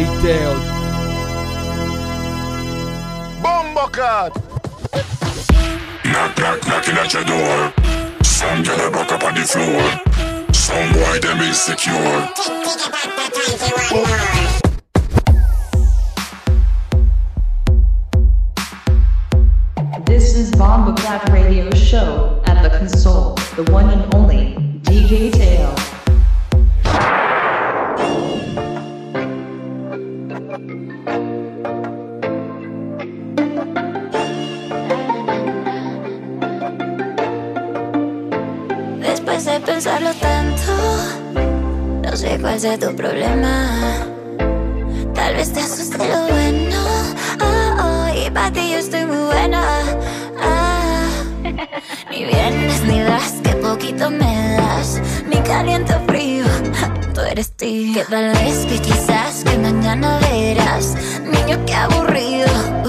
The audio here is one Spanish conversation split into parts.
DJ Teo. Bombocat. Knock, knock, knocking at your door. Some girl back up on the floor. Some boy them insecure. This is Bombocat Radio Show. At the console, the one and only DJ Teo. Después de pensarlo tanto, no sé cuál sea tu problema. Tal vez te asuste lo bueno. Oh, oh, y para ti yo estoy muy buena. Ni vienes ni das, que poquito me das. Ni caliente o frío, tú eres tío. Que tal vez, que quizás, que mañana verás. Niño, qué aburrido.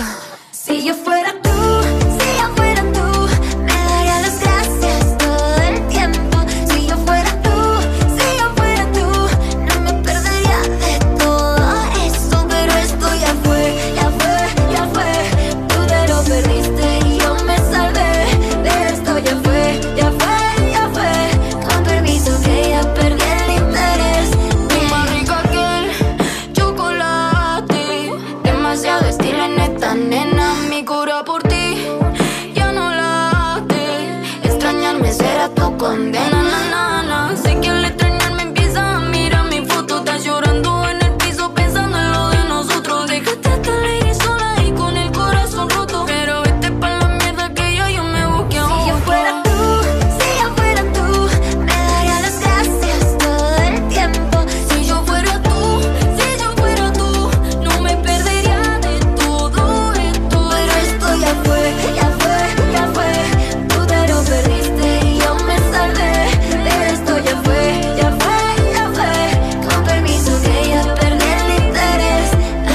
Si yo fuera tú, si yo fuera tú, me daría las gracias todo el tiempo. Si yo fuera tú, si yo fuera tú, no me perdería de todo eso. Pero esto ya fue, ya fue, ya fue. Tú te lo perdiste y yo me salvé. De esto ya fue, ya fue, ya fue. Con permiso que ya perdí el interés. Más rica que el chocolate, demasiado estilo en esta nena. Mi cura por ti ya no late. Extrañarme será tu condena, na, na, na. Sé que al extrañarme empieza a mirar mi foto. Estás llorando en el piso pensando en lo de nosotros. Dejaste a esta lady sola y con el corazón roto. Pero vete pa' la mierda que yo me busqué a otro. Si yo fuera tú, si yo fuera tú, me daría las gracias todo el tiempo. Si yo fuera tú, si yo fuera tú, no me perdería de todo esto. Pero esto ya fue, ya fue, ya fue. Tú te lo perdiste y yo me salvé. De esto ya fue, ya fue, ya fue. Con permiso que ya perdí el interés.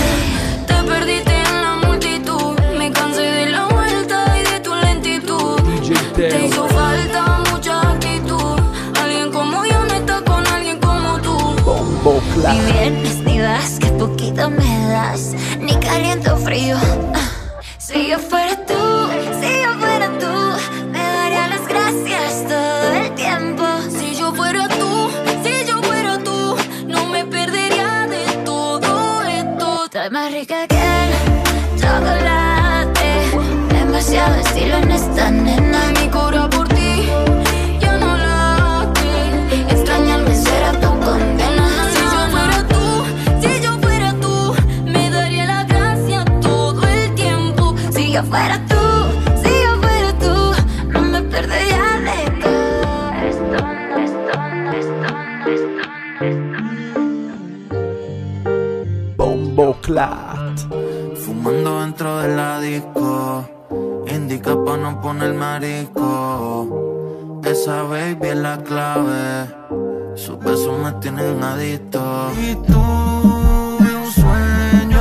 Te perdiste en la multitud. Me cansé de la vuelta y de tu lentitud. DJ Te Teo. hizo falta mucha actitud. Alguien como yo no está con alguien como tú. Bombo Ni Clap. vienes ni vas, que poquito me das. Ni caliente o frío. Si yo fuera tú, si yo fuera tú, me daría las gracias todo el tiempo. Si yo fuera tú, si yo fuera tú, no me perdería de todo esto. Estás más rica que el chocolate, demasiado estilo en esta nena. Mi cura por ti ya no late. Extrañarme será tu condena. Si yo fuera tú, si yo fuera tú, me daría la gracia todo el tiempo. Si yo fuera tú, si yo fuera tú, no me perdería de todo esto, no, esto, no, esto, no, esto, no. Bombo Clap. Fumando dentro de la disco, indica pa' no poner marisco. Esa baby es la clave, sus besos me tienen adicto. Y tuve un sueño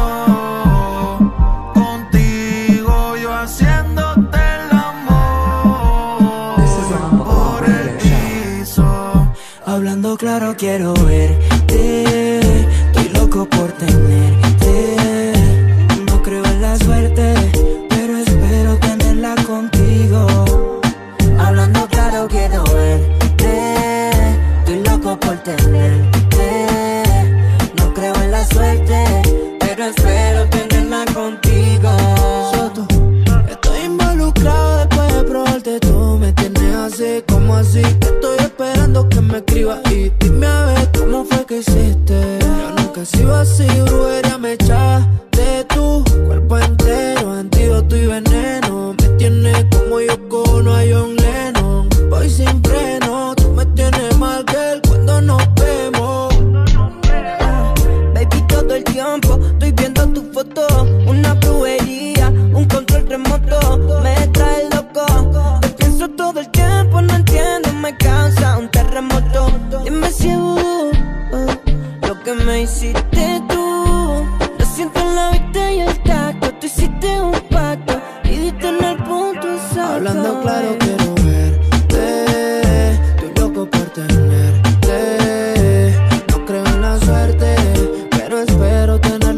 contigo, yo haciéndote el amor por el piso. Hablando claro quiero verte, estoy loco por tenerte. No creo en la suerte, pero espero tenerla contigo. Hablando claro quiero verte, estoy loco por tenerte. No creo en la suerte, pero espero tenerla contigo. Soto, estoy involucrado después de probarte. Tú me tienes así, como así. Estoy esperando que me escribas y dime a ver cómo fue que hiciste. Yo nunca he sido así, brujería me echaste tú. Cuerpo entero, antídoto y veneno. Me tienes como yo cono a John Lennon. Voy sin freno, tú me tienes mal que cuando nos vemos. Baby, todo el tiempo estoy viendo tu foto. Una brujería, un control remoto. Me trae loco, te pienso todo el tiempo. No entiendo, me causa un terremoto. Dime si es vudú, lo que me hiciste tú. Lo siento en la vista y el tacto. Tú hiciste un pacto y diste en el punto exacto. Hablando claro quiero verte, estoy loco por tenerte. No creo en la suerte, pero espero tener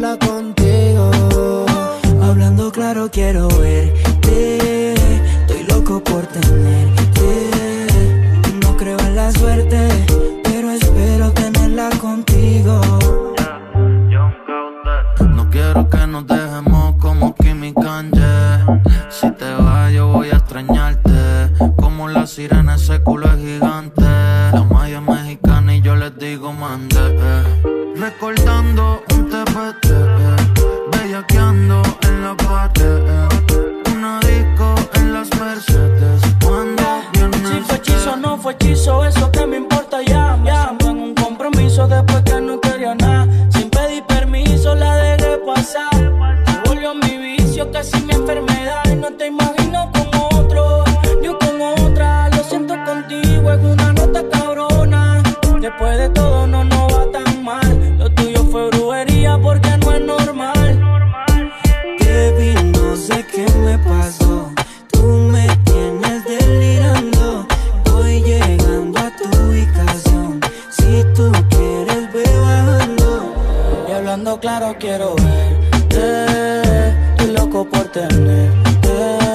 la sirena, ese culo es gigante. La maya mexicana y yo les digo mande. Recordando un TPT, bellaqueando en la pared. Una disco en las Mercedes. Cuando vienes, si fue hechizo o no fue hechizo, eso que me importa ya. Me siento en un compromiso después que no quería nada. Sin pedir permiso la dejé pasar. Se volvió mi vicio, casi mi enfermedad. Y no te imagino con otro, yo con otra. Lo siento contigo, es una nota cabrona. Después de todo no nos va tan mal. Lo tuyo fue brujería porque no es normal. Kevin, no sé qué me pasó. Tú me tienes delirando. Voy llegando a tu ubicación. Si tú quieres, ve bajando. Y hablando claro quiero verte. Estoy loco por tenerte.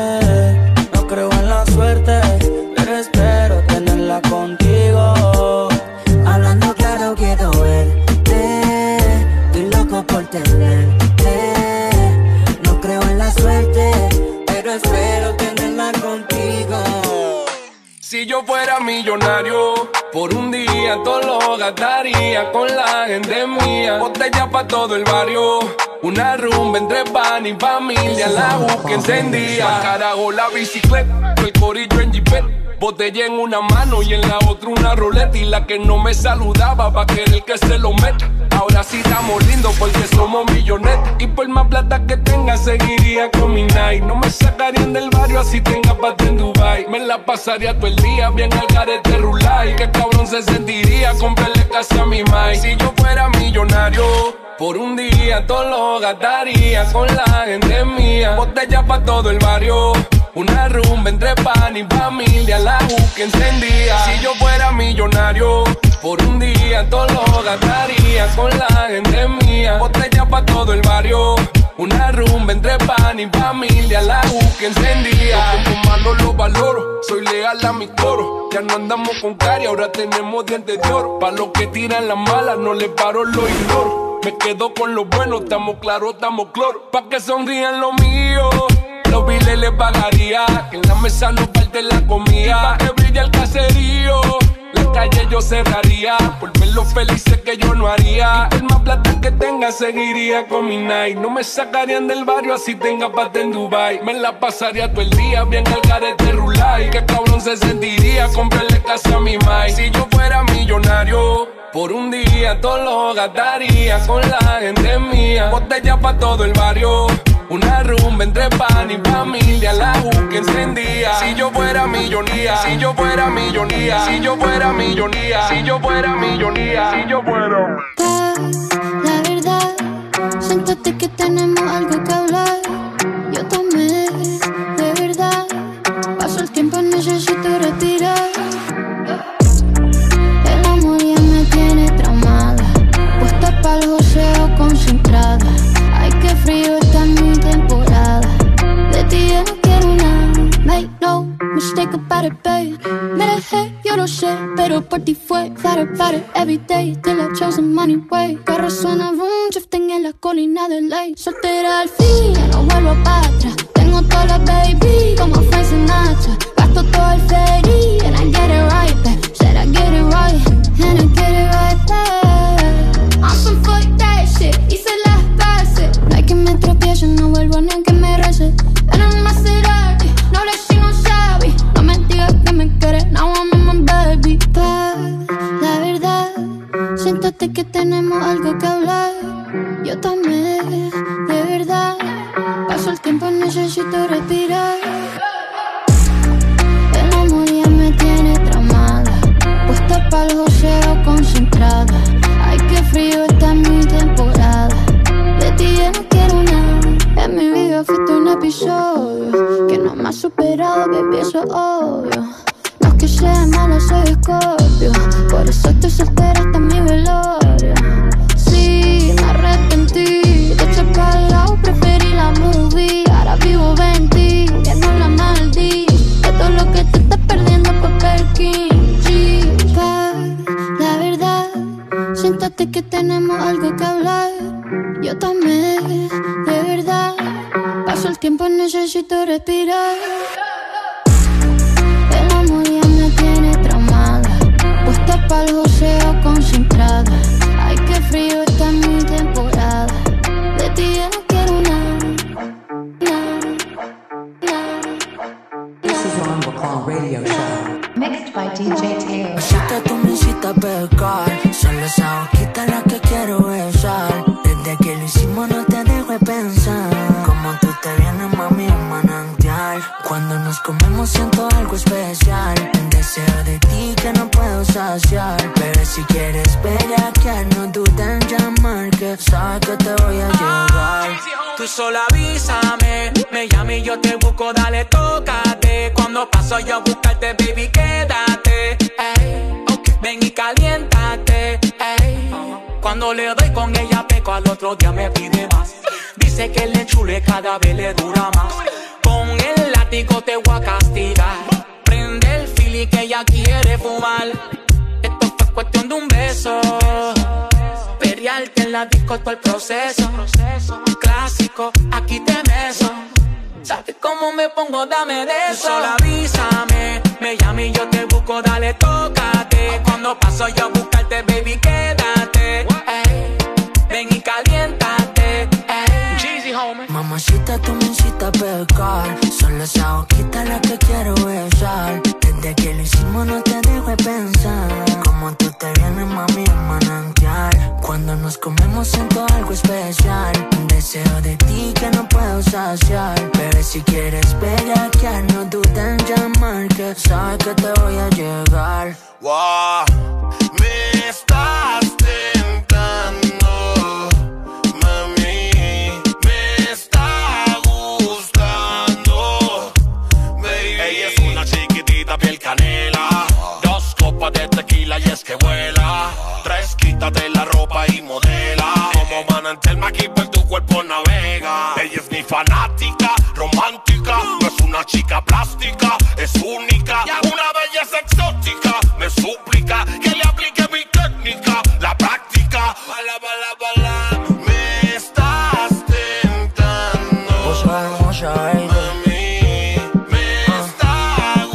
No creo en la suerte, pero espero tenerla contigo. Hablando claro quiero verte. Estoy loco por tenerte. No creo en la suerte, pero espero tenerla contigo. Si yo fuera millonario, por un día todo lo gastaría con la gente mía. Botella pa' todo el barrio, una rumba entre pan y familia. La busca encendía, carajo la bicicleta, el corillo en jipet. Botella en una mano y en la otra una roleta. Y la que no me saludaba va a querer que se lo meta. Ahora sí estamos lindos porque somos millonetas. Y por más plata que tenga seguiría con mi night. No me sacarían del barrio así tenga pata en Dubai. Me la pasaría todo el día bien al garete rulay. Qué cabrón se sentiría comprarle casa a mi mai. Si yo fuera millonario, por un día todo lo gastaría con la gente mía. Botella pa' todo el barrio, una rumba entre pan y familia. La busca encendía. Si yo fuera millonario, por un día todo lo gastaría con la gente mía. Botella pa' todo el barrio, una rumba entre pan y familia. La busca encendía. Yo como malo lo valoro, soy leal a mi coro. Ya no andamos con cari, ahora tenemos dientes de oro. Pa' los que tiran las malas no les paro, lo ignoro. Me quedo con lo bueno, estamos claros, estamos cloro. Pa' que sonrían lo mío, los biles les pagaría. Que en la mesa no falte la comida. Pa' que brille el caserío, la calle yo cerraría. Por ver lo felices que yo no haría. Y por más plata que tenga seguiría con mi night. No me sacarían del barrio así tenga pata en Dubai. Me la pasaría todo el día bien al garete rulay. Qué cabrón se sentiría comprarle casa a mi mai. Si yo fuera millonario, por un día todo lo gastaría con la gente mía. Botella pa' todo el barrio, una rumba entre pan y familia. La busca encendía. Si yo fuera millonía, si yo fuera millonía, si yo fuera millonía, si yo fuera millonía, si yo fuera. La verdad, siéntate que tenemos algo que hablar. Yo tomé, de verdad. Paso el tiempo, necesito respirar. El amor ya me tiene traumada, puesta pa'l joseo concentrada. Ay, qué frío está mi temporada. De ti ya no quiero nada. Make no mistake about it, babe. Me dejé, yo lo sé, pero por ti fue. Flatter, every day, till I chose the money way. Carro suena boom, drifting en la colina de ley. Soltera al fin, ya no vuelvo para atrás. Tengo toda la baby, como Frank Sinatra. Gasto todo el ferry, and I get it right back. Said I get it right, and I get it right back. I'm some fuck that shit, hice las paces. No hay que me tropiece, no vuelvo ni aunque me rece. En el Maserati, no le sigo sabe. No me digas que me quieres, now I'm in my baby. Pa, la verdad, siéntate que tenemos algo que hablar. Yo tomé, de verdad. Paso el tiempo, necesito respirar. El amor ya me tiene traumada, puesta pa'l joseo concentrada. Ay, qué frío está mi temporada. De ti ya no quiero nada. En mi vida fuiste un episodio que no me ha superado, baby, eso es obvio. No es que sea mala, soy Scorpio. Por eso estoy soltera hasta mi velorio. Sí, me arrepentí de echar pa'l lado, preferí la movie. Ahora vivo 20, ya no la maldí. De todo lo que te estás perdiendo por Perkin. Chica, la verdad, siéntate que tenemos algo que hablar. Yo tomé, de verdad. Paso el tiempo, necesito respirar. El amor Radio Show. Mixed by DJ Teo. Cita, tú me hiciste pecar. Son esa boquita la que quiero besar. Desde que lo hicimos no te dejo de pensar. Como tú te vienes, mami, un manantial. Cuando nos comemos siento algo especial. Un deseo de ti que no puedo saciar. Bebé, si quieres bellaquear, no dudes en llamar, que sabes que te voy a llegar. Tú solo avísame, me llame y yo te busco, dale, tócate. Cuando paso yo a buscarte, baby, quédate. Ey, okay. Ven y caliéntate. Ey. Cuando le doy con ella peco, al otro día me pide más. Dice que le chule cada vez le dura más. Con el látigo te voy a castigar. Prende el fili que ella quiere fumar. Esto fue cuestión de un beso. Periarte en la disco todo el proceso. Clásico, aquí te beso. ¿Sabes cómo me pongo? Dame de eso. Solo avísame, me llame y yo te busco, dale, tócate. Cuando paso yo a buscarte, baby, quédate. Ey, ven y caliéntate. Jeezy, homie. Mamacita, tú me hiciste pecar. Solo esa boquita la que quiero besar. Desde que lo hicimos no te dejo de pensar. Como tú te vienes, mami, un manantial. Cuando nos comemos siento algo especial. Un deseo de ti que no puedo saciar. Bebé, si quieres bellaquear, no dudes en llamar, que sabes que te voy a llegar. Wow, me estás tentando, mami, me está gustando, baby. Ella es una chiquitita piel canela, 2 copas de tequila y es que vuela. 3, quítate la ropa y modela. Como manantial aquí por tu cuerpo navega. Ella es mi fanática, romántica. No es una chica plástica, es única. Una belleza exótica. Me suplica que le aplique mi técnica. La práctica. Bala, bala, bala. Me estás tentando, Hermosa, baby. mami, me está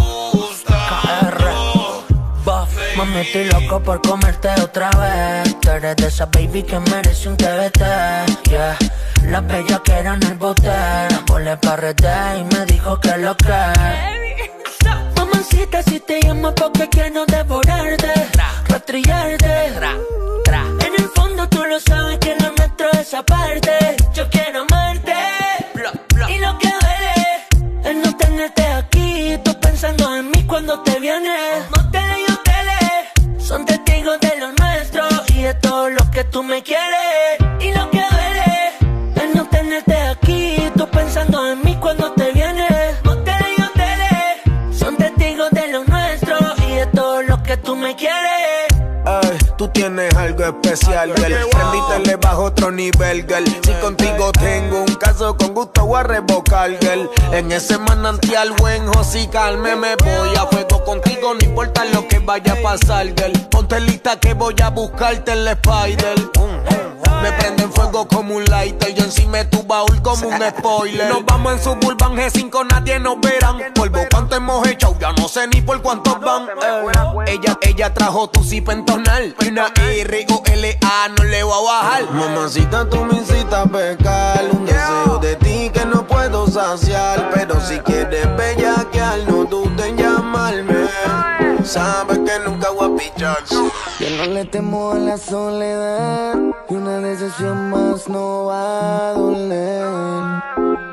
gustando. Mami, estoy loco por comerte otra vez. Tú eres de esa baby que merece un TBT, yeah. La bella que era en el bote, volé pa' rete y me dijo que lo que. Mamacita, si te llamo porque quiero devorarte, rastrillarte. En el fondo tú lo sabes que lo nuestro es aparte. Yo quiero amarte, y lo que duele es no tenerte aquí. Tú pensando en mí cuando te vienes. Moteles y hoteles son testigos de lo nuestro y de todo lo que tú me quieres. Y lo que duele es no tenerte aquí. Tú pensando en mí cuando te vienes. Moteles y hoteles son testigos de lo nuestro y de todo lo que tú me quieres. Ay, tú tienes algo especial, girl. Prendiste le bajo otro nivel, girl. Si contigo tengo un caso, con gusto voy a revocar, girl. En ese manantial buen josical me voy a fuego contigo, no importa lo que vaya a pasar, girl. Ponte lista que voy a buscarte el spider. Me prende en fuego como un lighter. Yo encima de tu baúl como un spoiler. Nos vamos en Suburban G5, nadie nos verán. Polvo cuánto hemos echado, ya no sé ni por cuántos van. Ella trajo tu zip en tonal. Una R-O-L-A, no le voy a bajar. Mamacita, tú me hiciste pecar. Un deseo de ti que no puedo saciar. Pero si quieres bellaquear, no dudes en llamarme. Sabes que nunca voy a pichar. Yo no le temo a la soledad, y una decisión más no va a doler.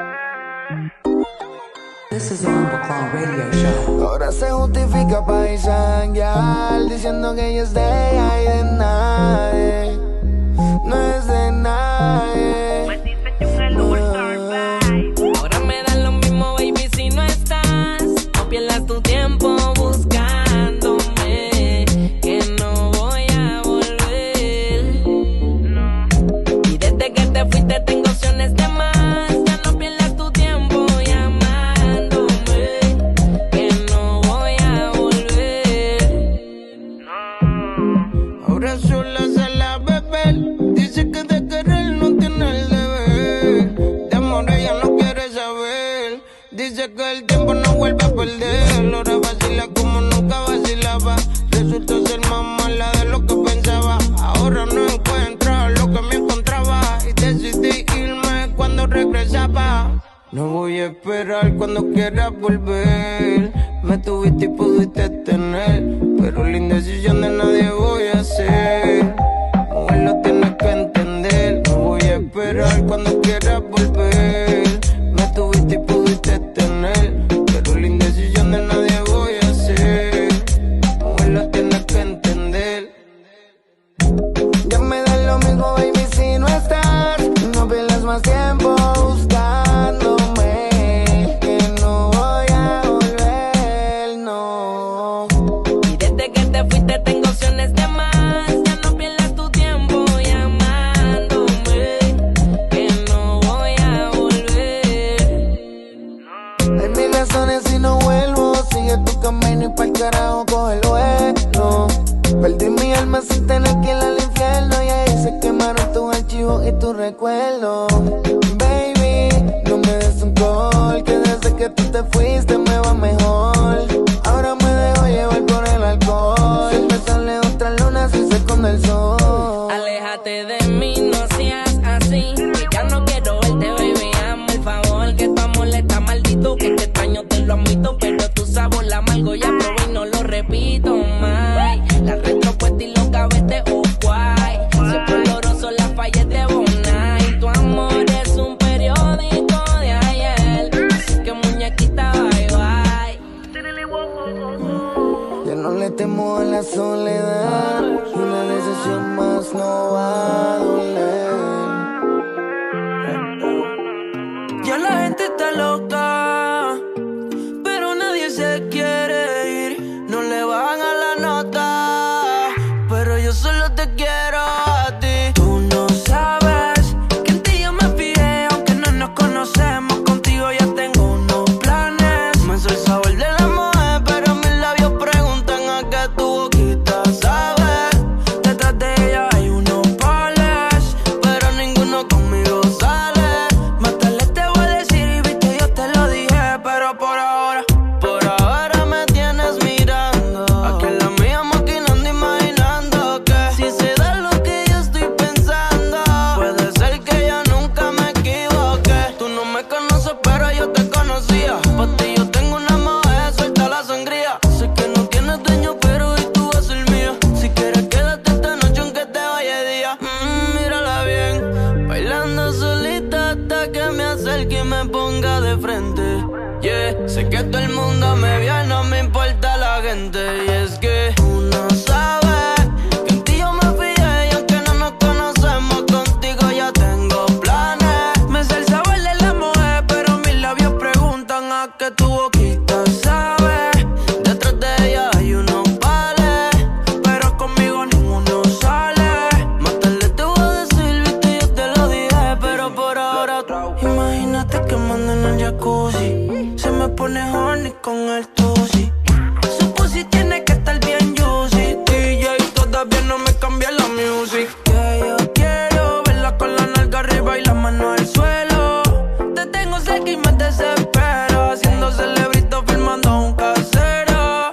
This is the Rumble Clown Radio Show. Ahora se justifica paisanguear, diciendo que ella es de ella y de nadie. No es de nadie. Ahora me da lo mismo, baby, si no estás. No pierdas tu tiempo buscándome, que no voy a volver. No. Y desde que te fuiste tengo opciones de más. Ya no pierdas tu tiempo llamándome, que no voy a volver. No. Ahora sola se la beber, dice que de querer no tiene el deber. De amor ella no quiere saber, dice que el tiempo no vuelve a perder. Ahora vacila como nunca vacilaba, resultó ser más mala de lo que pensaba. Ahora no encuentro lo que me encontraba y decidí irme cuando regresaba. No voy a esperar cuando quieras volver, me tuviste y pudiste tener, pero la indecisión de nadie voy a ser. Mujer, lo tienes que entender. No voy a esperar cuando quieras volver. Me tuviste y pudiste tener, pero la indecisión de nadie voy a ser. Mujer, lo tienes que entender. Ya me da lo mismo, baby, si no estás. No pierdas más tiempo buscándome, que no voy a volver, no. Y desde que te fuiste tengo opciones de más. Ya no pierdas tu tiempo llamándome, que no voy a volver. Hay mil razones si no vuelvo. Sigue tu camino y pa'l carajo coge el vuelo. Perdí mi alma sin tener que ir al infierno, y ahí se quemaron tus archivos y tus recuerdos. Baby, no me des un call, que desde que tú te fuiste me va mejor. Ahora me dejo llevar por el alcohol. Me sale otra luna si se esconde el sol. Aléjate de mí, no seas así, que ya no quiero verte, baby, hazme el favor. Que tu amor está maldito, que te extraño, te lo admito, pero tu sabor la amargo ya probé y no lo repito más. La retropuesta y los gavetes guay. Siempre oloroso las fallas de Bonai. Tu amor es un periódico de ayer, así que muñequita, bye bye. Ya no le temo a la soledad, y una decisión más no va a doler. Ya la gente está loca, pero nadie se quiere ir. No le bajan a la nota, pero yo solo te quiero a ti. Tú no sabes que en ti yo me fijé, aunque no nos conocemos. Contigo ya tengo unos planes. Me soy el sabor de la mujer, pero mis labios preguntan a qué tu boquita sabe. Detrás de ella hay unos pales, pero ninguno conmigo sale. Más tarde te voy a decir, y viste, yo te lo dije, pero por ahora me tienes mirando. Aquí en la mía maquinando, imaginando que si se da lo que yo estoy pensando, puede ser que yo nunca me equivoque. Tú no me conoces, pero yo te conocía. Por ti yo tengo una mujer, suelta la sangría. Sé que no tienes dueño, pero hoy tú vas a ser mía. Si quieres quédate esta noche aunque te vaya de día. Mírala bien, bailando solita hasta que me acerque y me ponga de frente. Yeah, sé que todo el mundo me ve, no me importa la gente. Y es que tú no sabes que en ti yo me fijé, y aunque no nos conocemos, contigo ya tengo planes. Me sé el sabor de la mujer, pero mis labios preguntan a qué tu boquita sabe. Detrás de ella hay unos pales, pero conmigo ninguno sale. Más tarde te voy a decir, viste, yo te lo dije, pero por ahora imagínate que manden al jacuzzi. Se me pone horny con el tusi. Su pussy tiene que estar bien juicy. DJ todavía no me cambia la music. Que yo quiero verla con la nalga arriba y la mano al suelo. Te tengo cerca y me desespero, haciendo celebrito filmando un casero.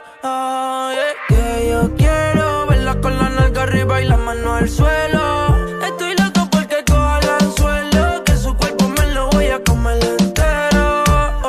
Que yo quiero verla con la nalga arriba y la mano al suelo. Estoy loco porque coja el anzuelo, que su cuerpo me lo voy a comer entero.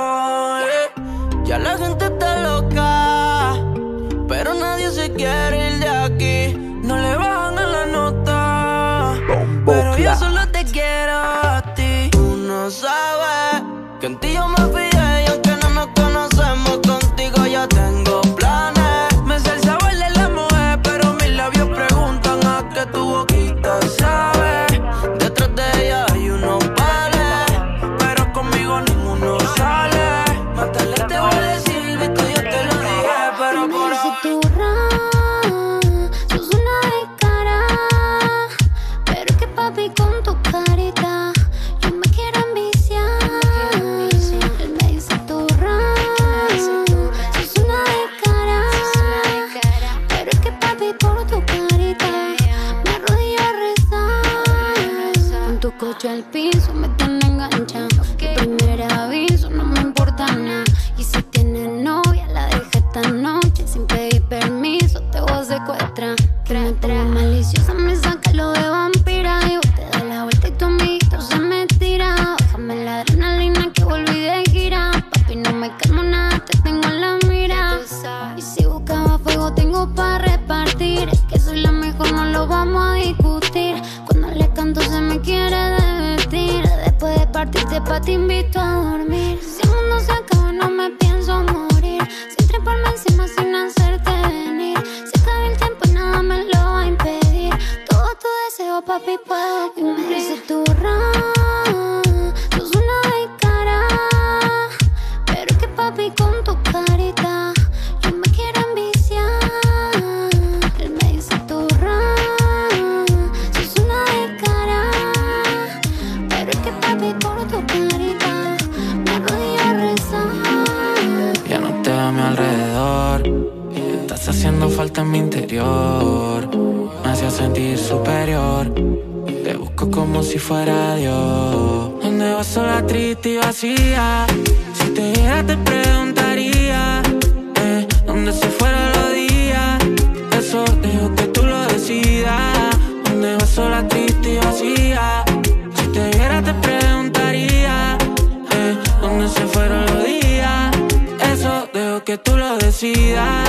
Ya la gente está loca, pero nadie se quiere ir de aquí. No le bajan a la nota, pero yo solo te quiero a ti. Tú no sabes que en ti yo me fijé, y aunque no nos conocemos, contigo ya tengo planes. Me sé el sabor de la mujer, pero mis labios preguntan a qué tu boquita sabe. Detrás de ella hay unos pales, pero conmigo ninguno sale. Más tarde te voy a decir, viste, yo te lo dije, pero por ahora Sos una descara, pero es que papi con tu carita yo me quiero enviciar. Él me dice turra, sos una descara, pero es que papi por tu carita me arrodillo a rezar. Con tu coche al piso me tiene enganchado. Tu primer aviso no me importa nada, y si tienes novia la dejé esta noche sin pedir permiso, te voy a secuestrar. Que me pongo maliciosa, me saca lo de vampira, y vos te das la vuelta y tu amiguito se me tira. Bájame la adrenalina que volví de gira, papi no me calmo nada, te tengo en la mira. Y si invito a dormir. Si el mundo se acaba no me pienso morir. Sin treparme encima, sin hacerte venir. Se acaba el tiempo y nada me lo va a impedir. Todo tu deseo, papi, puedo cumplir. Se sos una cara. Pero es que papi con tu carita yo me quiero enviciar. Él me dice turra, sos una cara. Pero es que papi por tu carita me arrodillo a rezar. Ya no te veo a mi alrededor, estás haciendo falta en mi interior. Me hacía sentir superior, te busco como si fuera Dios. ¿Dónde vas sola, triste y vacía? Si te viera te preguntaría, ¿dónde se fueron los días? Eso dejo que tú lo decidas. ¿Dónde vas sola, triste y vacía? Si te viera te preguntaría, ¿dónde se fueron los días? Eso dejo que tú lo decidas.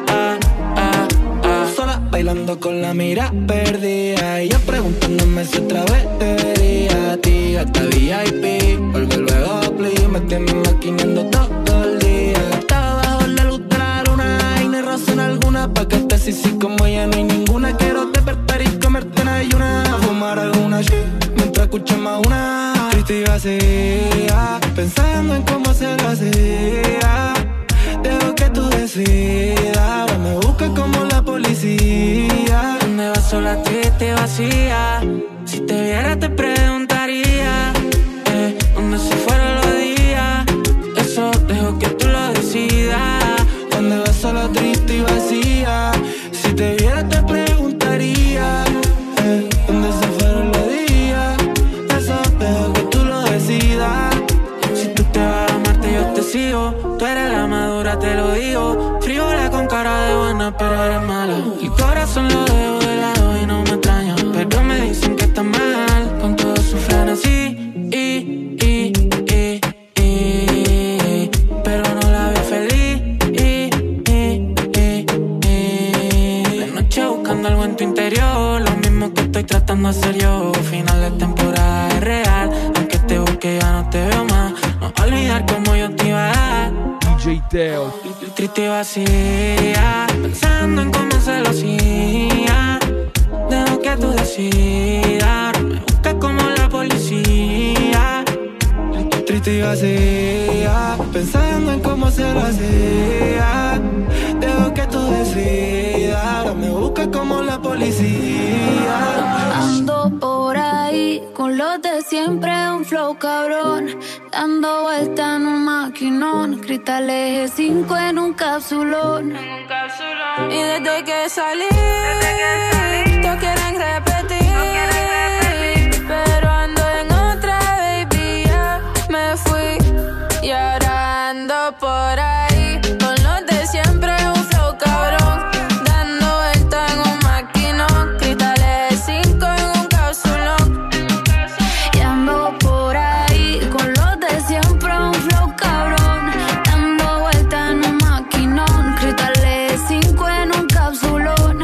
Sola bailando con la mira perdida, y yo preguntándome si otra vez te vería. A ti hasta VIP, vuelve luego a Play. Me tienes maquinando todo el día. Estaba bajo la luz de la luna y no hay razón alguna pa' que estés así como ella, no hay ninguna. Quiero despertar y comerte en ayuna, fumar alguna shit mientras escuchamos una triste y vacía, pensando en cómo se lo hacía. Dejo que tú decidas, ahora me buscas como la policía. ¿Dónde vas sola, triste y vacía? Si te viera te preguntaría, ¿dónde se fueron los días? Eso dejo que tú lo decidas. ¿Dónde vas sola, triste y vacía? Si te viera te preguntaría, ¿dónde se fueron los días? Eso dejo que tú lo decidas. Si tú te vas a amarte yo te sigo. Tú eres la madura, te lo digo. Frívola con cara de buena, pero eres mala. El corazón lo dejo de lado y no me extraña, pero me dicen que está mal. Con todo su frenesí, pero no la veo feliz. De noche buscando algo en tu interior, lo mismo que estoy tratando de hacer yo. Final de temporada es real, aunque te busque ya no te veo más. No olvidar cómo yo te iba a dar. DJ Teo. Triste y vacía, pensando en cómo se lo hacía. Dejo que tú decidas, me buscas como la policía. Triste y vacía, pensando en cómo se lo hacía. Dejo que tú decidas, me buscas como la policía. Ando por ahí con los de siempre, un flow cabrón, dando vuelta en un maquinón, cristales G5 en un capsulón. Y desde que salí, todos quieren repetir, pero ando en otra, baby, ya me fui. Y ahora ando por ahí con los de siempre, un flow cabrón, dando vuelta en un maquinón, cristales G5 en un capsulón. Y ando por ahí con los de siempre, un flow cabrón, dando vuelta en un maquinón, cristales G5 en un capsulón.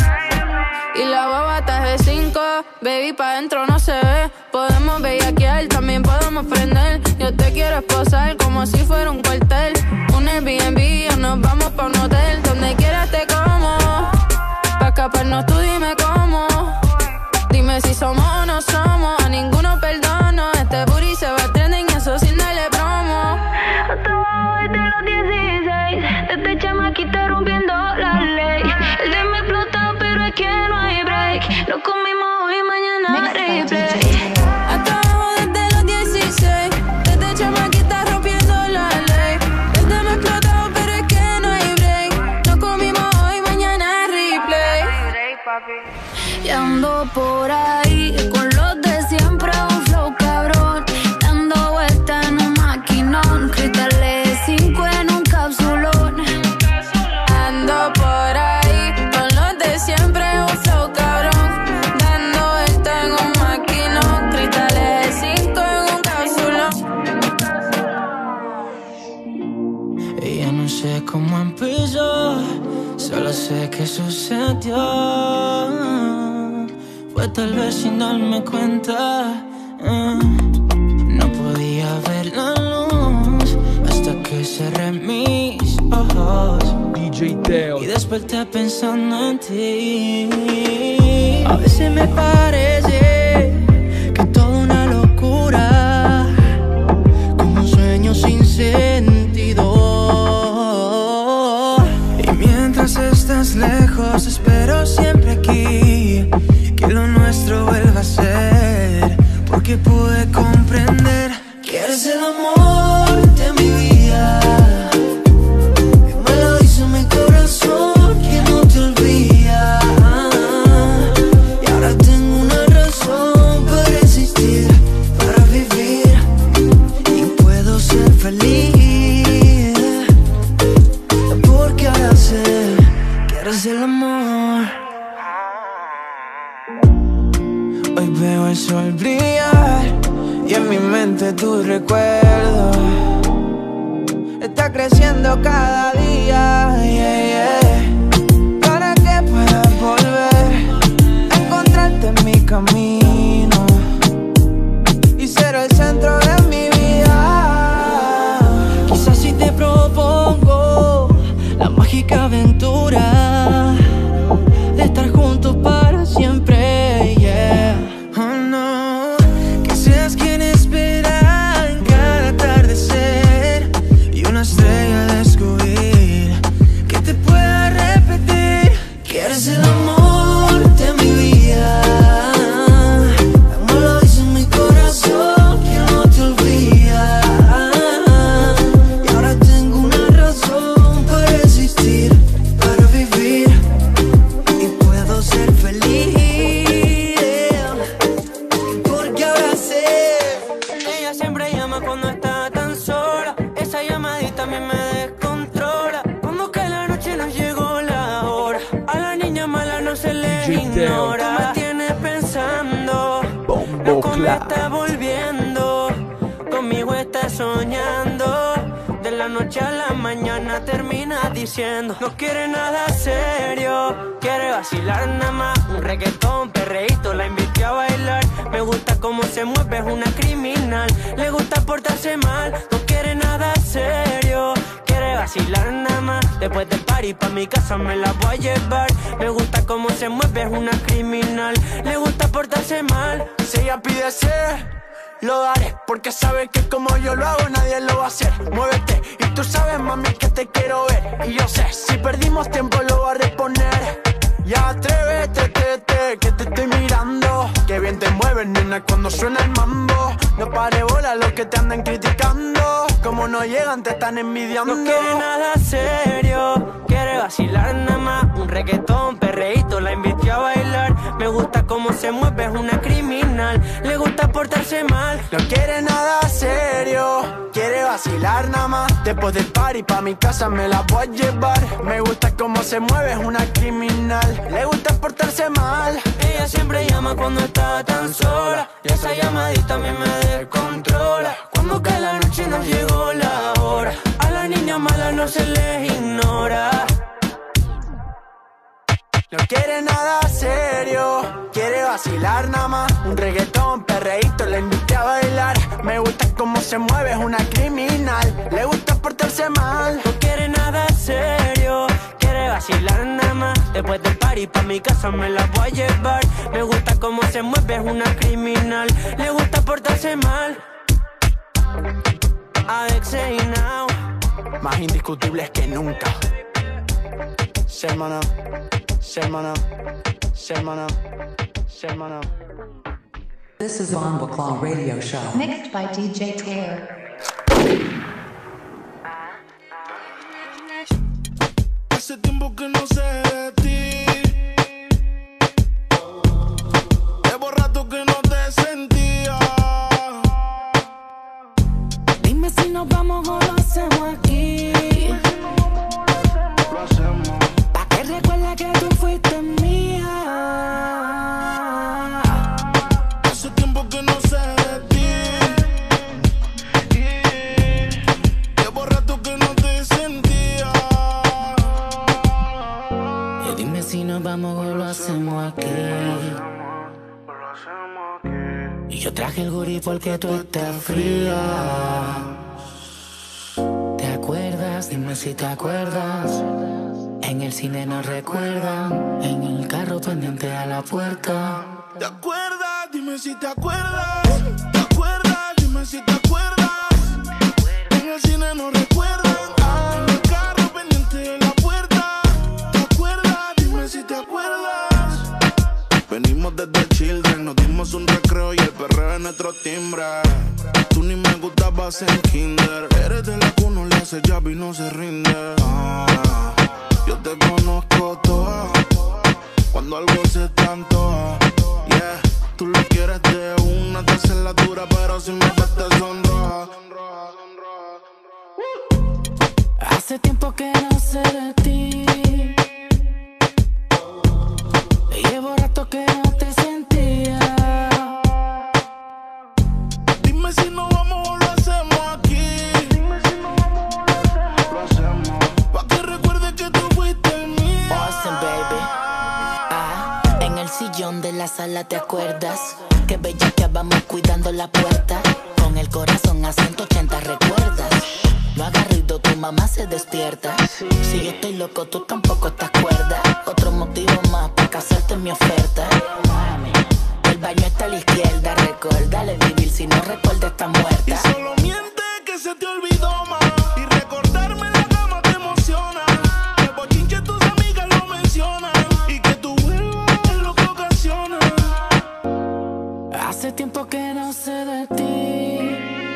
Y la baba está G5, baby, pa' dentro no se ve. Podemos bellaquear, también podemos prender. Yo te quiero esposar como si fuera un cuartel. Un Airbnb o nos vamos pa' un hotel. Donde quieras te como, pa' escaparnos tú dime cómo. Dime si somos o no somos, a ninguno perdono. Este booty se va trending, eso sin darle promo. Hasta abajo desde los 16, desde chamaquita rompiendo la ley. El de me explotó, pero es que no hay break. Lo comimos hoy, mañana replay. Hasta abajo desde los 16, desde chamaquita rompiendo la ley. El de me explotó, pero es que no hay break. Lo comimos hoy, mañana replay. Y ando por ahí con los de siempre, un flow cabrón, dando vuelta en un maquinón, cristales 5 en un capsulón. Ando por ahí con los de siempre, un flow cabrón, dando vuelta en un maquinón, cristales 5 en un capsulón. Ella no sé cómo empezó, solo sé que sucedió. Fue tal vez sin darme cuenta. No podía ver la luz hasta que cerré mis ojos. DJ Teo. Y desperté pensando en ti. A veces me parece que es toda una locura, como un sueño sin sentido. Y mientras estás lejos, espero siempre aquí que lo nuestro vuelva a ser, porque pude comprender que eres el amor de mi vida. Me lo dice mi corazón que no te olvida. Y ahora tengo una razón para existir, para vivir, y puedo ser feliz, porque ahora sé que eres el amor. Hoy veo el sol brillar y en mi mente tu recuerdo está creciendo cada día, yeah, yeah. Para que puedas volver a encontrarte en mi camino y ser el centro de mi vida. Quizás si te propongo la mágica aventura de estar juntos para siempre, yeah. Oh no, que seas quien espera en cada atardecer y una estrella descubrir que te pueda repetir que eres el amor de mi vida. Me lo dice mi corazón que no te olvida. Y ahora tengo una razón para existir, para vivir, y puedo ser feliz, porque ahora sé. Ella siempre llama cuando está tan sola. Esa llamadita a mí me descontrola. Cuando cae la noche nos llegó la hora. A la niña mala no se le ignora. Tú me tienes pensando, loco me está volviendo. Conmigo estás soñando. De la noche a la mañana termina diciendo no quiere nada serio, quiere vacilar nada más. Un reggaetón, perreíto, la invité a bailar. Me gusta cómo se mueve, es una criminal. Le gusta portarse mal, no quiere nada serio, quiere vacilar nada más. Después del party pa' mi casa me la voy a llevar. Me gusta cómo se mueve, es una criminal. Le gusta portarse mal. Si ella pide ser, lo daré, porque sabe que como yo lo hago nadie lo va a hacer. Muévete, y tú sabes mami que te quiero ver. Y yo sé, si perdimos tiempo lo voy a reponer. Ya atrévete, que te estoy mirando. Que bien te mueves, nena, cuando suena el mambo. No pare bola los que te andan criticando. Como no llegan te están envidiando. No quiere nada serio, quiere vacilar nada más. Un reggaetón, perreíto, la invité a bailar. Me gusta cómo se mueve, es una criminal. Le gusta portarse mal. No quiere nada serio, quiere vacilar nada más. Después del party pa' mi casa me la voy a llevar. Me gusta cómo se mueve, es una criminal. Le gusta portarse mal. Ella siempre llama cuando está tan sola. Y esa llamadita a mí me descontrola. Cuando cae la noche nos llegó la hora. A la niña mala no se les ignora. No quiere nada serio, quiere vacilar nada más. Un reggaetón, perreíto, la invité a bailar. Me gusta cómo se mueve, es una criminal. Le gusta portarse mal. No quiere nada serio, quiere vacilar nada más. Después del party pa' mi casa me la voy a llevar. Me gusta cómo se mueve, es una criminal. Le gusta portarse mal. Alexei Now, más indiscutibles que nunca. Semana, semana, semana, semana. This is Von Baclaw Radio Show. Mixed by DJ Taylor. Hace tiempo que no sé de ti. Llevo rato que no te sentía. Dime si nos vamos o lo hacemos aquí. Lo hacemos. Pa' que recuerda que tú fuiste mía. Hace tiempo que no sé de ti. Llevo rato que no te sentía. Y dime si nos vamos o lo hacemos aquí. Y yo traje el gurí porque tú estás fría. ¿Te acuerdas? Dime si te acuerdas. En el cine nos recuerdan. En el carro pendiente a la puerta. ¿Te acuerdas? Dime si te acuerdas. ¿Te acuerdas? Dime si te acuerdas. En el cine nos recuerdan. En el carro pendiente de la puerta. ¿Te acuerdas? Dime si te acuerdas. Venimos desde Children, nos dimos un recreo y el perreo es nuestro timbre. Tú ni me gustabas en kinder. Eres de la que uno le hace llave y no se rinde. Yo te conozco toda. Cuando algo se tanto, yeah. Tú lo quieres de una, te haces la dura, pero si me ves te sonroja. Hace tiempo que no sé de ti. Llevo rato que no te sentía. Dime si nos vamos o lo hacemos aquí. Dime si nos vamos o lo hacemos. Pa' que recuerdes que tú fuiste el mío. Awesome, baby. En el sillón de la sala, ¿te acuerdas? Que bella que vamos cuidando la puerta. Con el corazón a 180, ¿recuerdas? No hagas ruido, tu mamá se despierta. Si yo estoy loco, tú tampoco estás cuerda. Otro motivo más para casarte en mi oferta. El baño está a la izquierda, recuérdale vivir. Si no recuerda, está muerta. Y solo miente que se te olvidó más. Y recordarme en la cama te emociona. El bochinche tus amigas lo mencionan. Y que tú vuelvas es lo que ocasiona. Hace tiempo que no sé de ti.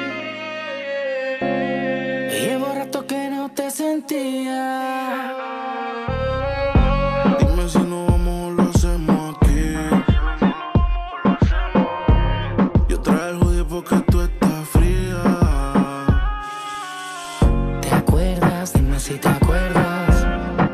Llevo rato que no te sentía. Dime si nos vamos o lo hacemos aquí. Yo traje el hoodie porque tú estás fría. ¿Te acuerdas? Dime si te acuerdas.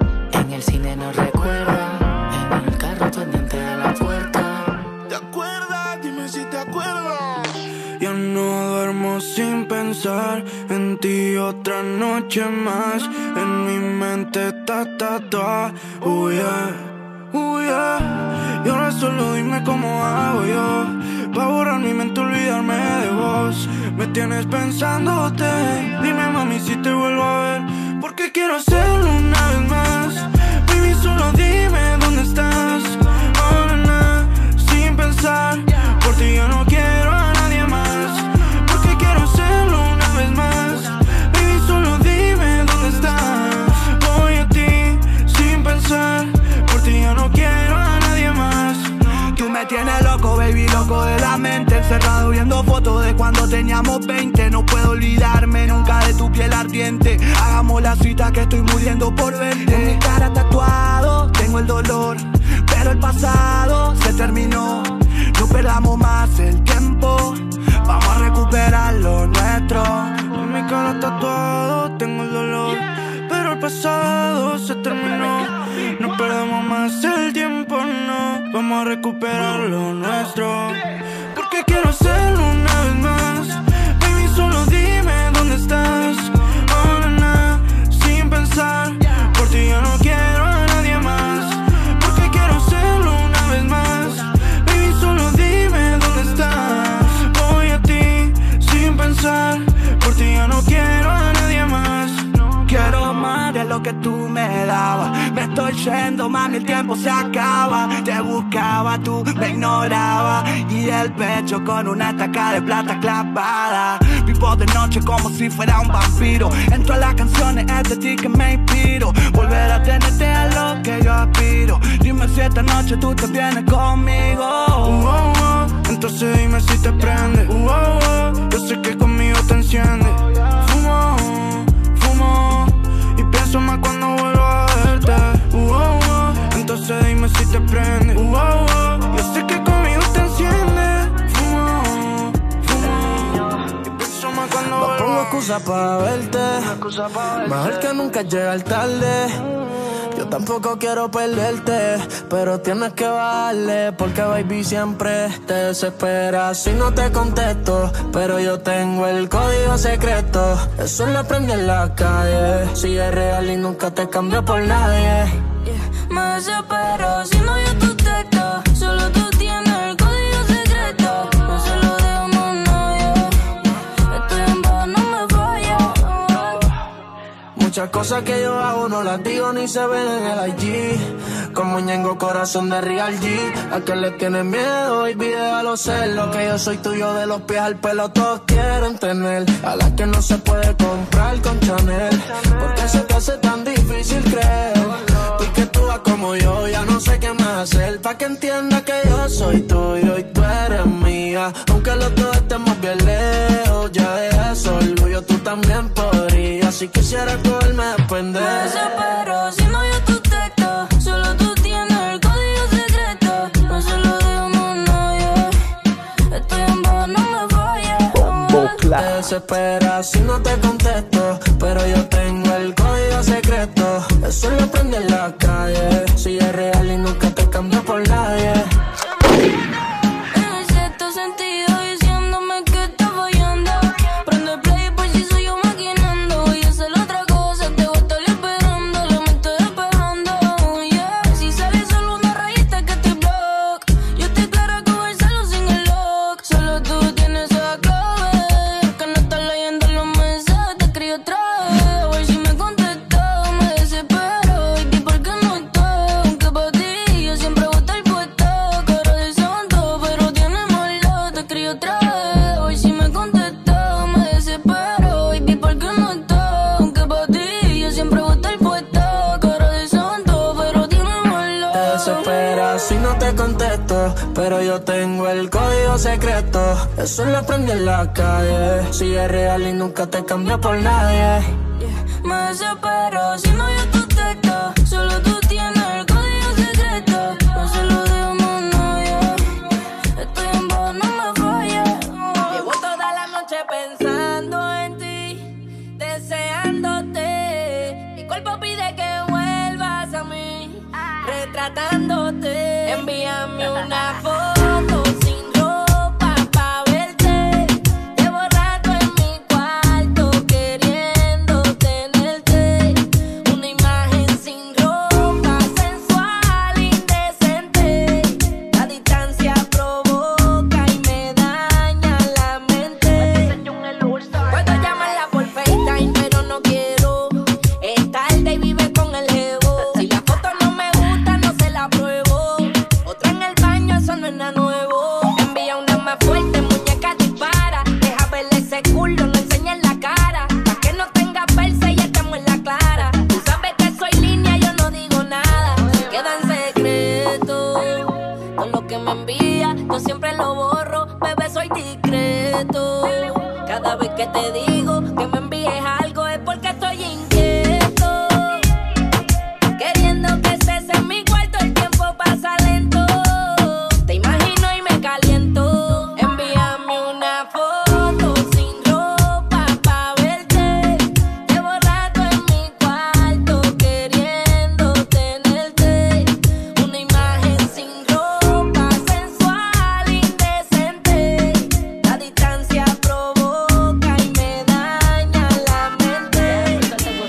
En el cine nos recuerdan. En el carro pendiente de la puerta. ¿Te acuerdas? Dime si te acuerdas. Yo no duermo sin pensar en ti otra noche más. En mi mente está tatuada. Oh yeah, oh yeah. Y ahora solo dime cómo hago yo pa' borrar mi mente, olvidarme de vos. Me tienes pensándote. Dime mami si te vuelvo a ver, porque quiero hacerlo una vez más. Baby solo dime dónde estás. Oh nena, sin pensar. Por ti yo no quiero a nadie más, porque quiero hacerlo una vez más. Baby solo dime dónde estás. Voy a ti sin pensar. Por ti yo no quiero a nadie más. Tú me tienes loco, baby, loco de la mente. Encerrado viendo fotos de cuando teníamos 20. No puedo olvidarme nunca de tu piel ardiente. Hagamos la cita que estoy muriendo por verte. En mi cara tatuado, tengo el dolor, pero el pasado se terminó. No perdamos más el tiempo, vamos a recuperar lo nuestro. En mi cara tatuado tengo el dolor, pero el pasado se terminó. No perdamos más el tiempo, no. Vamos a recuperar lo nuestro, porque quiero hacerlo una vez más. Baby solo dime dónde estás. Oh nena, sin pensar. Por ti yo no quiero a nadie más, porque quiero hacerlo una vez más. Baby solo dime dónde estás. Voy a ti sin pensar. Por ti yo no quiero a nadie más. Quiero más de lo que tú me dabas. Me estoy yendo, mami, el tiempo se acaba. Te buscaba, tú me ignorabas. Y el pecho con una estaca de plata clavada. Vivo de noche como si fuera un vampiro. Entro a las canciones, es de ti que me inspiro. Volver a tenerte a lo que yo aspiro. Dime si esta noche tú te vienes conmigo. Entonces dime si te prende. Yo sé que conmigo te enciende. Fumo, fumo y pienso más cuando vuelvo a verte. Entonces dime si te prende. Yo sé que conmigo te enciende. Fumo, fumo y pienso más cuando vuelvo a verte. No pongo excusa para verte. Mejor que nunca llegar tarde. Yo tampoco quiero perderte, pero tienes que bajarle, porque baby siempre te desespera si no te contesto. Pero yo tengo el código secreto, eso lo aprendí en la calle. Sigue real y nunca te cambio por nadie. Me desespero si no yo tu texto. Solo tú tienes el código secreto. No se lo cosas que yo hago no las digo ni se ven en el IG. Como Ñengo, corazón de Real G. A que le tienes miedo, baby, déjalo ser. Lo que yo soy tuyo de los pies al pelo, todos quieren tener. A la que no se puede comprar con Chanel. Porque se te hace tan difícil creer. Tú que tú vas como yo, ya no sé qué más hacer. Pa' que entienda que yo soy tuyo y tú eres mía. Aunque los dos estemos bien lejos, ya de eso orgullo tú también podrías. Si quisieras cogerme de pendejo. Me desespero si no yo tu texto. Solo tú tienes el código secreto. No se lo demos nadie. Estoy en paz, no me falles. Te desesperas si no te contesto. Pero yo tengo el código secreto. Eso lo aprendí en la calle. Si es real y nunca te cambio por nadie. En cierto sentido diciéndome que está fallando. Prende play por si soy yo maquinando. Y hacer otra cosa, te voy a estar esperando. La mente despejando, yeah. Si sale solo una rayita que te block. Yo estoy clara con el celo sin el lock. Solo tú tienes esa clave. Que no estás leyendo los mensajes, te escribo otra vez. A ver si me contestas, me desespero. Y por qué no estás, aunque para ti yo siempre voy a estar puesta. Cara de santo, pero tiene maldad, te escribo otra vez. A ver si me contestas, me desespero. Y por qué no estás, aunque para ti yo siempre voy a estar puesta. Cara de santo, pero tiene maldad. Te desesperas si no te contesto. Pero yo tengo el código secreto. Eso lo aprendí en la calle. Si es real y nunca te cambio por nadie. Me desespero si no yo tu texto. Solo tú tienes el código secreto. No se lo demos a nadie. Estoy en paz, no me falles. Llevo toda la noche pensando en ti, deseándote. Mi cuerpo pide que vuelvas a mí, retratándote. Envíame una foto sin ropa pa' verte. Llevo rato en mi cuarto queriendo tenerte. Una imagen sin ropa, sensual, indecente. La distancia provoca y me daña la mente. Puedo llamarla por FaceTime, pero no quiero. Es tarde y vive con el jevo. Si la foto no me gusta, no se la pruebo. Otra en el baño, eso no es nada nuevo. Envía una más fuerte, muñeca dispara. Deja verle ese culo, no enseñes la cara. Pa' que no tenga verse y estemos en la clara. Tú sabes que soy línea, yo no digo nada. Queda en secreto. Todo lo que me envía, yo siempre lo borro. Bebé, soy discreto. Cada vez que te digo que me envíes algo es porque estoy inquieto. Queriendo que estés en mi cuarto, el tiempo pasa lento. Te imagino y me caliento. Envíame una foto sin ropa pa' verte. Llevo rato en mi cuarto queriendo tenerte. Una imagen sin ropa, sensual, indecente. La distancia provoca y me daña la mente.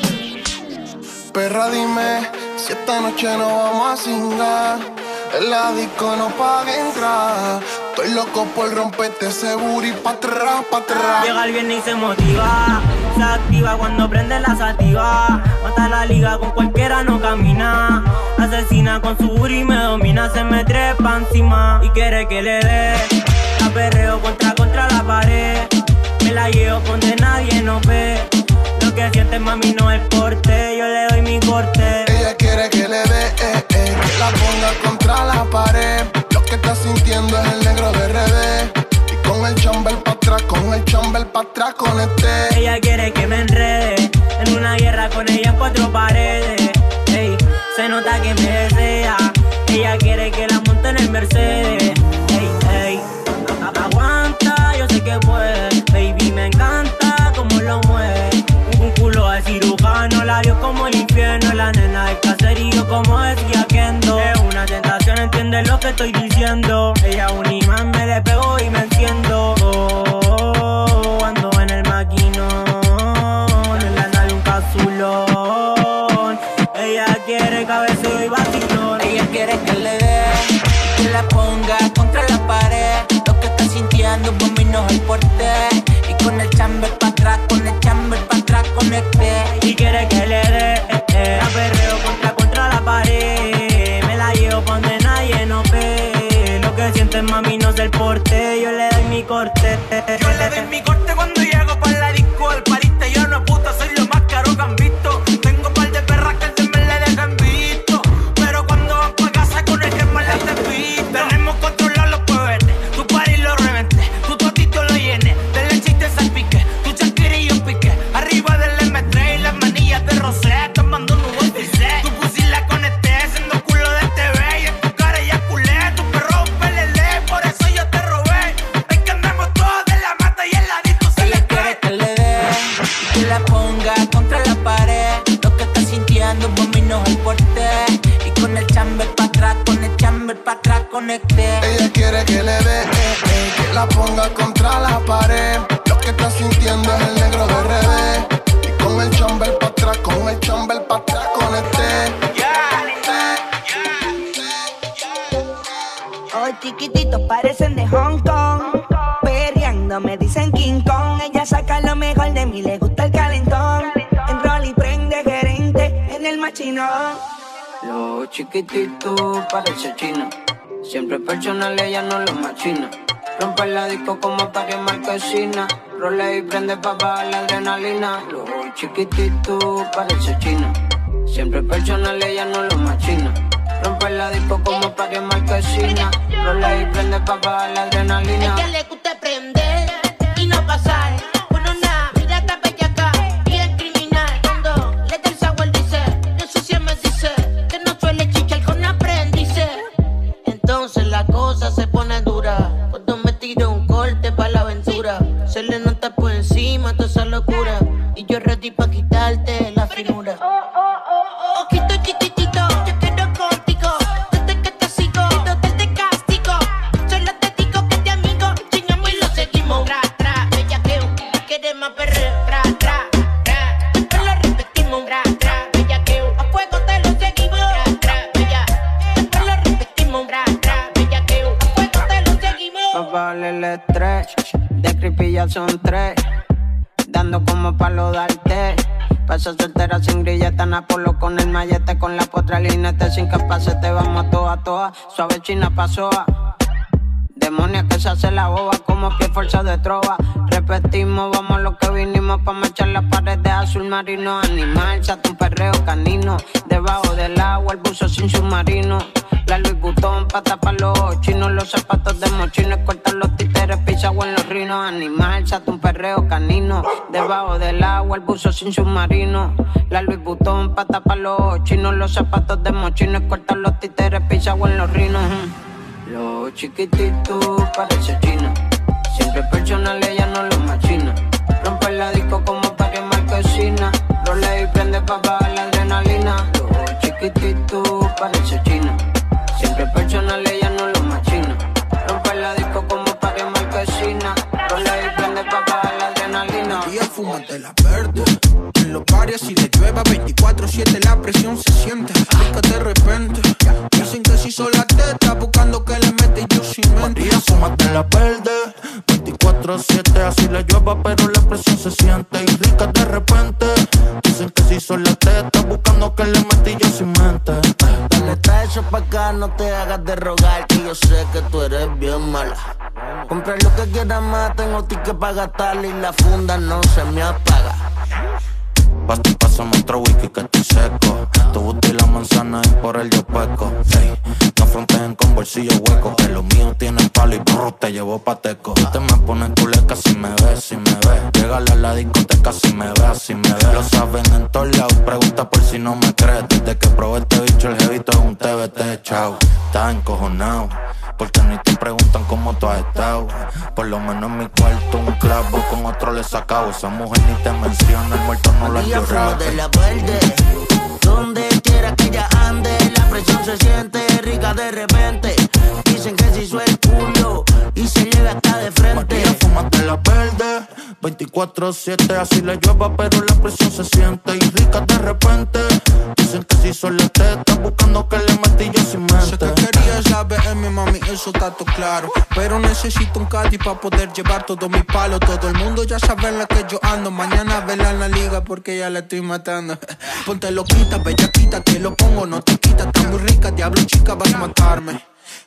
Perra, dime si esta noche no vamos a cingar. En la disco no paga entrar. Estoy loco por romperte ese booty pa' atrás, pa' atrás. Llega el viernes y se motiva. Se activa cuando prende la sativa. Mata la liga, con cualquiera no camina. Asesina con su booty, me domina. Se me trepa encima y quiere que le dé. La perreo contra la pared. Me la llevo donde nadie nos ve. Lo que siente mami no es porte. Yo le doy mi corte. Ella quiere que le dé, que la ponga contra la pared. Lo que está sintiendo es el negro de RD. Y con el chamber pa' atrás, con este. Ella quiere que me enrede en una guerra con ella en 4 paredes. Ey, se nota que me desea. Ella quiere que la monte en el Mercedes. Ey, ey, aguanta, yo sé que puede. Baby, me encanta como lo mueve. Un culo de cirujano, labios como el infierno. La nena del caserío como decía Kendo. Es una tentación, entiende lo que estoy diciendo. Ella un imán, me le pego y me enciendo. Ando en el maquinón, en la nave un casulón. Ella quiere cabeceo y vacilón. Ella quiere que le dé, que la ponga contra la pared. Lo que está sintiendo por mí no es el porte. Y con el chamber pa' atrás, con este. Y quiere que le dé porte. Yo le doy mi corte cuando llego pa' la disco. El pariste yo no puta, soy lo más caro que han visto. Tengo un par de perras que se me le dejan visto, pero cuando van pa' casa con el que más las te visto. Tenemos controlado los puebetes, tu party lo reventé, tu totito lo llené, de leche y te salpique, tu Shakira y yo piqué, arriba del M3 y las manillas de rosé, tomando un nuevo pisé. Tu pussy la conecté, siendo culo de TV y en tu cara ya culé, tu perro un pelele, por eso yo te robé. Es que andamos todos de la mata y el ladito se le cae. Que le dé y que la ponga contra la pared. Lo que está sintiendo por mí no es el porte. Y con el chamber pa' atrás, con el chamber pa' atrás conecté. Ella quiere que le dé, que la ponga contra la pared. Lo que está sintiendo es el negro de RD. Y con el chamber pa' atrás, con el chamber pa' atrás conecté. Hoy chiquititos parecen de Hong Kong. Perreando me dicen King Kong. Ella saca lo mejor de mí, le gusta el calentón. En rol y prende gerente en el machinón. Lo chiquitito parece chino. Siempre personal, ella no lo machina. Rompe la disco como para quemar marquesina. Role y prende pa' bajar la adrenalina. Lo chiquitito parece chino. Siempre personal, ella no lo machina. Rompe la disco como para quemar marquesina. Role y prende pa' bajar la adrenalina. Ella le gusta prender y no pasar. Bueno, nada, mira esta bellaca y es criminal. Cuando le da el sabor dice, no sé si me dice que no suele chichar con aprendices. Entonces la cosa se pone dura cuando me tiro un corte pa' la aventura. Se le nota por encima toda esa locura y yo ready pa' quitarte la finura. Ojito chiquitito, yo quiero contigo. Desde que te sigo, desde te castigo. Solo te digo que te amigo, chingamos y lo seguimos. Tra, tra, bellaqueo, quiere más perreo. Tra, tra, tra, después lo repetimos. Tra, tra, bellaqueo, a fuego te lo seguimos. Tra, tra, bella, después lo repetimos. Tra, tra, bellaqueo, a fuego te lo seguimos. Pa' bajarle el estrés, de creepy ya son 3. Dando como palo darte. Pasa soltera sin grilleta, Napolo con el mallete, con la potra linete, sin capacete, vamos a toa. Suave china pasoa. Demonia que se hace la boba, como pie fuerza de trova. Repetimos, vamos a lo que vinimos, pa' marchar las paredes azul marino. Animal, chato un perreo canino. Debajo del agua, el buzo sin submarino. La Louis Vuitton pa' tapar los chinos. Los zapatos de mochino, cortar los títeres, pisagua en los rinos. Animal, chato un perreo canino. Debajo del agua, el buzo sin submarino. La Louis Vuitton pa' tapar los chinos. Los zapatos de mochino, cortar los títeres, pisagua en los rinos. Lo chiquitito parece chino. Siempre personal, ella no lo machina. Rompe la disco como para quemar marquesina. Role y prende pa' bajar la adrenalina. Lo chiquitito parece chino. Siempre personal, ella no lo machina. Rompe la disco como para quemar marquesina. Role y prende pa' bajar la adrenalina. Y fúmate la verde. En los pares si le llueva 24/7 la presión se siente. Rica de repente. Dicen que si son las tetas buscando que le mete y yo sin mente. María, fúmate la verde 24/7, así le llueva pero la presión se siente. Y rica de repente. Dicen que si son las tetas buscando que le mete y yo sin mente. Dale, trae eso pa' acá, no te hagas de rogar, que yo sé que tú eres bien mala. Compra lo que quieras más, tengo ticket pa' gastarle y la funda no se me apaga. Pásame otro whisky que estoy seco. Tu booty y la manzana y por el yo peco. Ey, no fronteen con bolsillo hueco, que los míos tienen palo y brr, te llevo pateco. Te me pones culeca si me ves, si me ves. Llegale a la discoteca si me ves, si me ves. Lo saben en todos lados, pregunta por si no me crees. Desde que probé este bicho el jevito es un TBT, chao. Estás encojonado, porque ni te preguntan cómo tú has estado. Por lo menos en mi cuarto un clavo, con otro le sacado. Esa mujer ni te menciona, el muerto no lo ha llorado. De la verde, donde quiera que ella ande, la presión se siente rica de repente. Dicen que se hizo el culo y se llega hasta de frente. María, fúmate la verde 24/7, así le llueva pero la presión se siente. Y rica de repente. Dicen que si son las tetas buscando que le metí yo sin mente. Sé que querías la BM, mami, eso está todo claro. Pero necesito un Caddy pa' poder llevar todo mi palo. Todo el mundo ya sabe en la que yo ando. Mañana vela en la liga porque ya la estoy matando. Ponte loquita, bellaquita, te lo pongo, no te quita. Está muy rica, diablo chica, vas a matarme.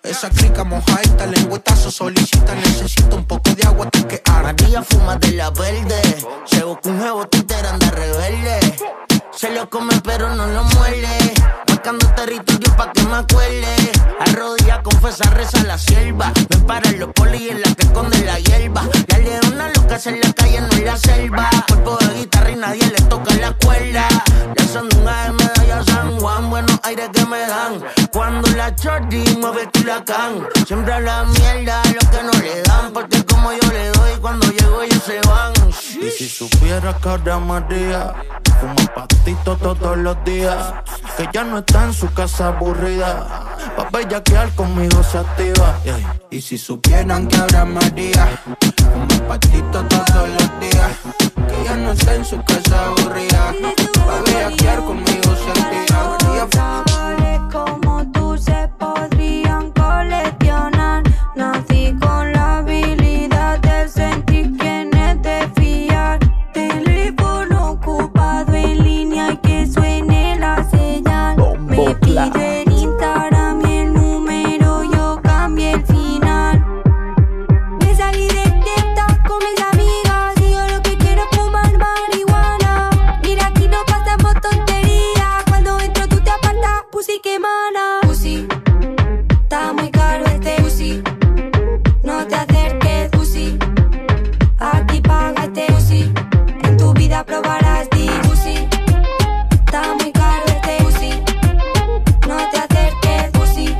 Esa crica mojadita, lengüetazo solicita. Necesito un poco de agua, tú que arde. María fuma de la verde. Se busca un nuevo Twitter, anda rebelde. Se lo come pero no lo muele. Marcando territorio pa' que me acuerde. Arrodilla, confesa, reza la sierva. Me paran los polis en la que esconde la hierba. La leona loca se en la calle, no en la selva. Cuerpo de guitarra y nadie le toca la cuerda. La sandunga de medalla San Juan. Buenos aires que me dan cuando la chordi mueve el culacán. Siempre a la mierda lo que no le dan. Porque como yo le doy, cuando llego ellos se van. Y si supiera que ahora María fuma patito todos los días, que ya no está en su casa aburrida, pa' bellaquear conmigo se activa. Y si supieran que ahora María fuma patito todos los días, que ya no está en su casa aburrida, pa' bellaquear conmigo se activa. Sabores como tú se podrían coleccionar. Nací con la habilidad de sentir quién es de fiar. Teléfono ocupado en línea y que suene la señal. Me pide en Instagram y el número, yo cambié el final. Me salí de TikTok con mis amigas y yo lo que quiero es fumar marihuana. Mira, aquí no pasamos tonterías. Cuando entro tú te apartas, pussy que mana. Pussy, está muy caro este pussy. No te acerques, pussy. Aquí paga este pussy. En tu vida probarás di pussy. Está muy caro este pussy. No te acerques, pussy.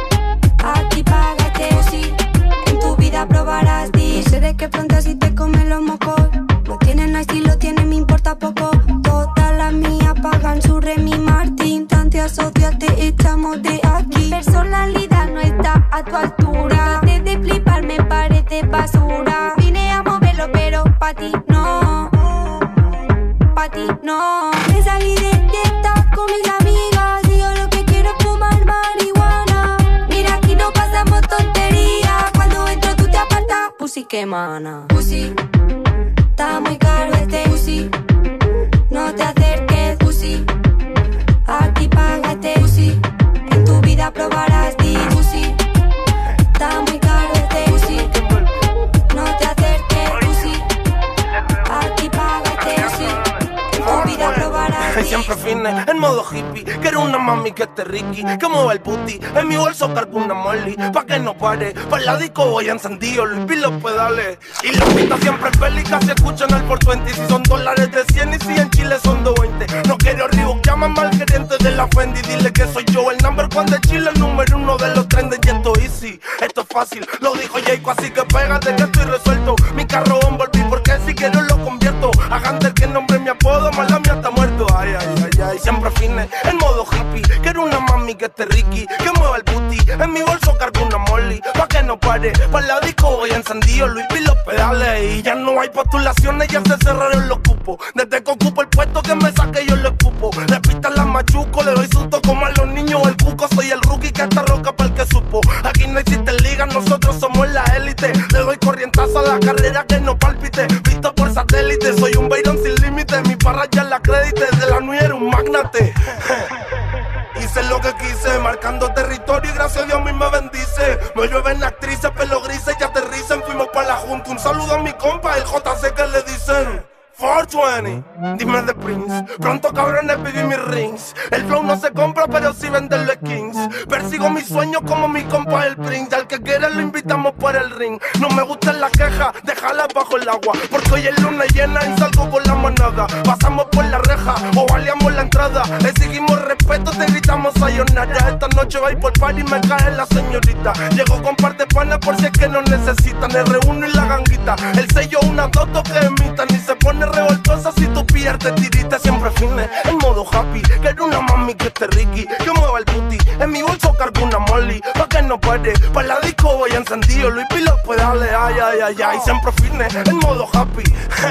Aquí paga este pussy. En tu vida probarás di. Sé de que pronto así te comen los mocos. No tienen nice y lo tienen, me importa poco. Todas las mías pagan su Remy Martin. Tante asocia, te echamos de aquí. Personalidad no está a tu altura. Antes de flipar me parece basura. Vine a moverlo pero pa' ti no. Pa' ti no. Me salí de TikTok con mis amigas y yo lo que quiero es fumar marihuana. Mira, aquí no pasamos tonterías. Cuando entro tú te apartas, pussy que mana. Pussy, está muy caro este pussy. No te acerques, pussy. Aquí paga este pussy. En tu vida probarás di pussy. Está muy caro este pussy. No te acerques, pussy. Aquí paga este pussy. En tu vida probarás di. Siempre fine, en modo hippie. Quiero una mami que esté ricky, que mueva el booty. En mi bolso cargo una molly, pa' que no pare. Pa' el disco voy encendido, Luis Pi los pedales. Y los pistas siempre bélicas, si escuchan el 420. Si son dólares de 100 y si en Chile son 220. No quiero Reebok, llaman al gerente de la Fendi. Dile que soy yo el number one de Chile, el número 1 de los trendes. Y esto easy, esto es fácil, lo dijo Jayco, así que pégate que estoy resuelto. Mi carro Bumblebee, porque si quiero lo convierto. Hagan del que nombre mi apodo, más la mía está muerto. Ay, ay, ay, ay, siempre fine, en modo hippie. Quiero una mami que esté ricky, que mueva el booty. En mi bolso cargo una molly, pa' que no pare. Pa' la disco voy encendido, Luis Pi los pedales. Y ya no hay postulaciones, ya se cerraron los cupos. Desde que ocupo el puesto que me saque yo lo escupo. Le pistan las machuco, le doy susto como a los niños el cuco. Soy el rookie que está roca para el que supo. Aquí no existe liga, nosotros somos la élite. Le doy corrientazo a la carrera que no palpite. Visto por satélite, soy un Byron sin límite. Mi parra ya la crédite, de la nueva era un magnate. Hice lo que quise, marcando territorio y gracias a Dios a mí me bendice. Me llueven actrices, pelo grises y aterricen. Fuimos pa' la junta, un saludo a mi compa, el JC que le dicen 420, dime de Prince. Pronto cabrones viví mis rings. El flow no se compra pero sí venden los kings. Persigo mis sueños como mi compa el Prince. Al que quiera lo invitamos por el ring. No me gustan las quejas, déjalas bajo el agua. Porque hoy es luna llena y salgo con la manada. Pasamos por la reja o baleamos la entrada. Exigimos respeto, te gritamos sayonara. Esta noche va a ir por party y me cae la señorita. Llego con par de panas por si es que no necesitan. R1 y la ganguita, el sello una doto que imitan. Y se pone revoltosa si tú pierdes, tirita siempre fine, en modo happy. Quiero una mami que esté ricky, que mueva el booty. En mi bolso cargo una molly, pa' que no pare. Pa' la disco voy encendido, Luis Pi los pedales. Ay, ay, ay, ay, siempre fine, en modo happy.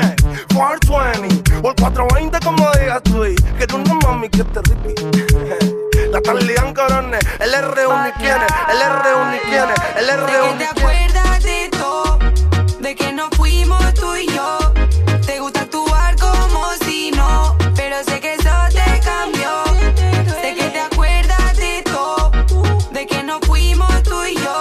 420, o el 420 como digas tú. Quiero una mami que esté ricky. La están liando, cabrones. El R1 y quiere, el R1 y quiere, el R1 y ¿Te acuerdas de todo? De que nos fuimos tú y yo. Te gusta actuar como si no, pero sé que eso te cambió. Sé que te acuerdas de todo, de que nos fuimos tú y yo.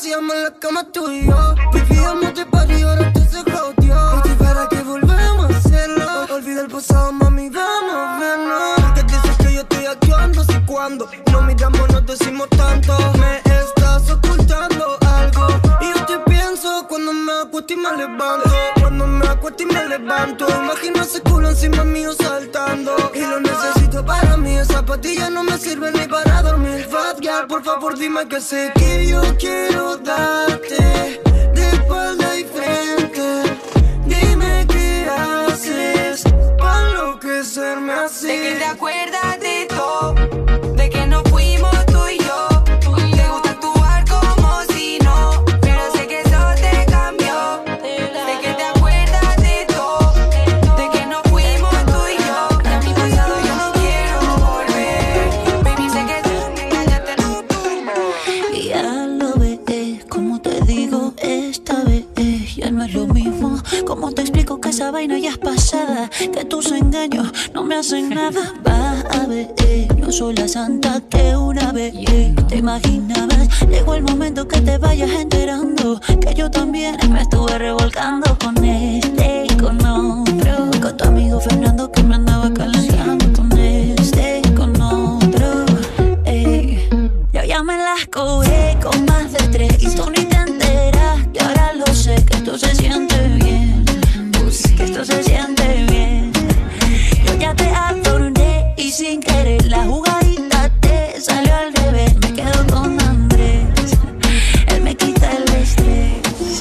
hacíamos la cama tú y yo. Vivíamos de party, ahora tú se jodió. Por ti para que volvemos a hacerlo. Olvida el pasado, mami, vamos a vernos. Porque dices que yo estoy actuando, si cuando no miramos nos decimos tanto. Me estás ocultando algo y yo te pienso cuando me acuesto y me levanto. Cuando me acuesto y me levanto, imagino ese culo encima mío saltando. Y lo necesito para mí, esa pastilla no me sirve ni para dormir. Fat girl, por favor dime que sé que yo quiero darte de espalda y frente. Dime qué haces para enloquecerme así. De que te acuerdas de todo, de que no fuimos tú y yo. Te gusta actuar como si no, pero sé que eso te cambió. De que te acuerdas de todo, de que no fuimos tú y yo. De mi pasado yo no quiero volver. Baby, sé que tú ya te lo. Y ya lo ves, como te digo, esta vez ya no es lo mismo. Como te explico que esa vaina ya es pasada, que tus engaños no me hacen nada. Va a ver, no soy la santa que una vez te imaginabas. Llegó el momento que te vayas enterando que yo también me estuve revolcando con este y con otro. Con tu amigo Fernando que me andaba calentando con este y con otro. Yo ya me las cobré con más de 3 y tú ni te enteras. Y ahora lo sé que esto se siente bien, que esto se siente bien. Yo ya te adorné y sin querer la jugadita te salió al revés. Me quedo con Andrés, él me quita el estrés.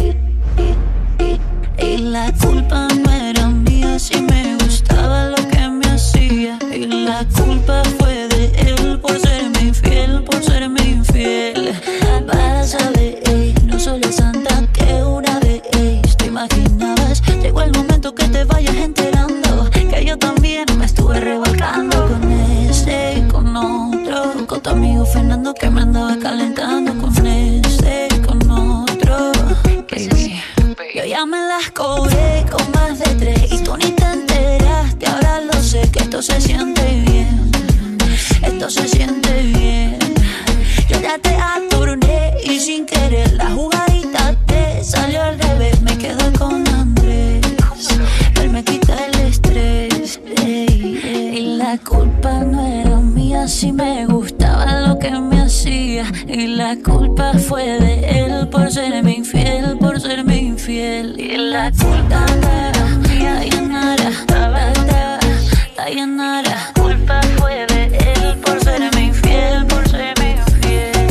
Y la culpa no era mía, si me gustaba lo que me hacía. Y la culpa fue de él por serme infiel, por serme infiel. Vas a ver, no soy la santa que una vez te imaginabas. Llegó el momento que te vayas enterando que yo también me estuve revolcando con este y con otro. Con tu amigo Fernando que me andaba calentando con este y con otro. Baby, yo ya me las cobré con más de 3 y tú ni te enteraste. Ahora lo sé que esto se siente bien, esto se siente bien. Yo ya te aturné y sin querer la jugadita te salió al revés. Me quedo con Andrés, él me quita el estrés. Y la culpa no era mía, si me gustaba lo que me hacía. Y la culpa fue de él por serme infiel, por serme infiel. Y la culpa no era mía, Dayanara, Dayanara. La culpa fue de él por serme infiel, por serme infiel.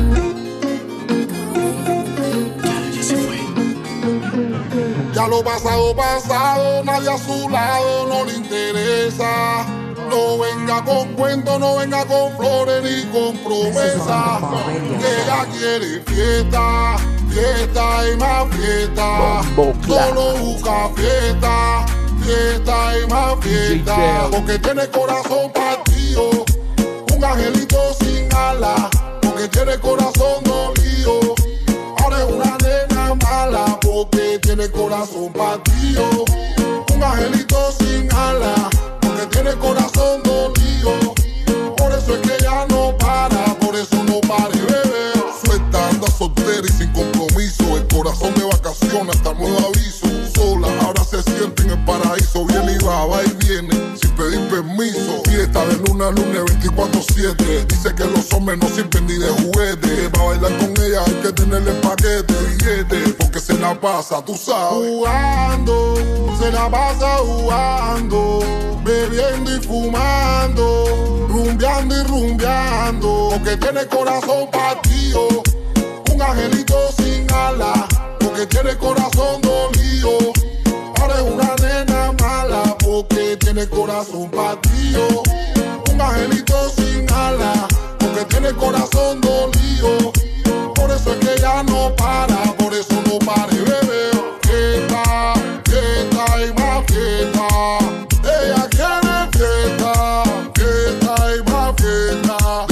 Ya lo pasado, pasado, nadie a su lado no le interesa. No venga con cuentos, no venga con flores ni con promesas. Que ella quiere fiesta, fiesta y más fiesta. Solo busca fiesta, fiesta y más fiesta. Porque tiene corazón partido, un angelito sin alas. Porque tiene corazón dolido, ahora es una nena mala. Porque tiene corazón partido, un angelito sin alas. Porque tiene corazón dolido, por eso es que ella no para, por eso no pare, bebé. Suelta, anda soltera y sin compromiso, el corazón de vacaciones hasta nuevo aviso. Sola, ahora se siente en el paraíso, viene y va y viene, sin pedir permiso. Fiesta de luna a lunes 24/7, dice que los hombres no sirven ni de juguete. Para bailar con ella hay que tenerle paquete, billete, porque se la pasa, tú sabes, jugando, se la pasa jugando, bebiendo y fumando, rumbeando y rumbeando. Porque tiene corazón partido, un angelito sin alas. Porque tiene corazón dolido, ahora es una nena mala. Porque tiene corazón partido, un angelito sin alas. Porque tiene corazón dolido, por eso es que ella no para, por eso no pare, bebé. Fiesta, fiesta y más fiesta. Ella quiere fiesta, fiesta y más fiesta.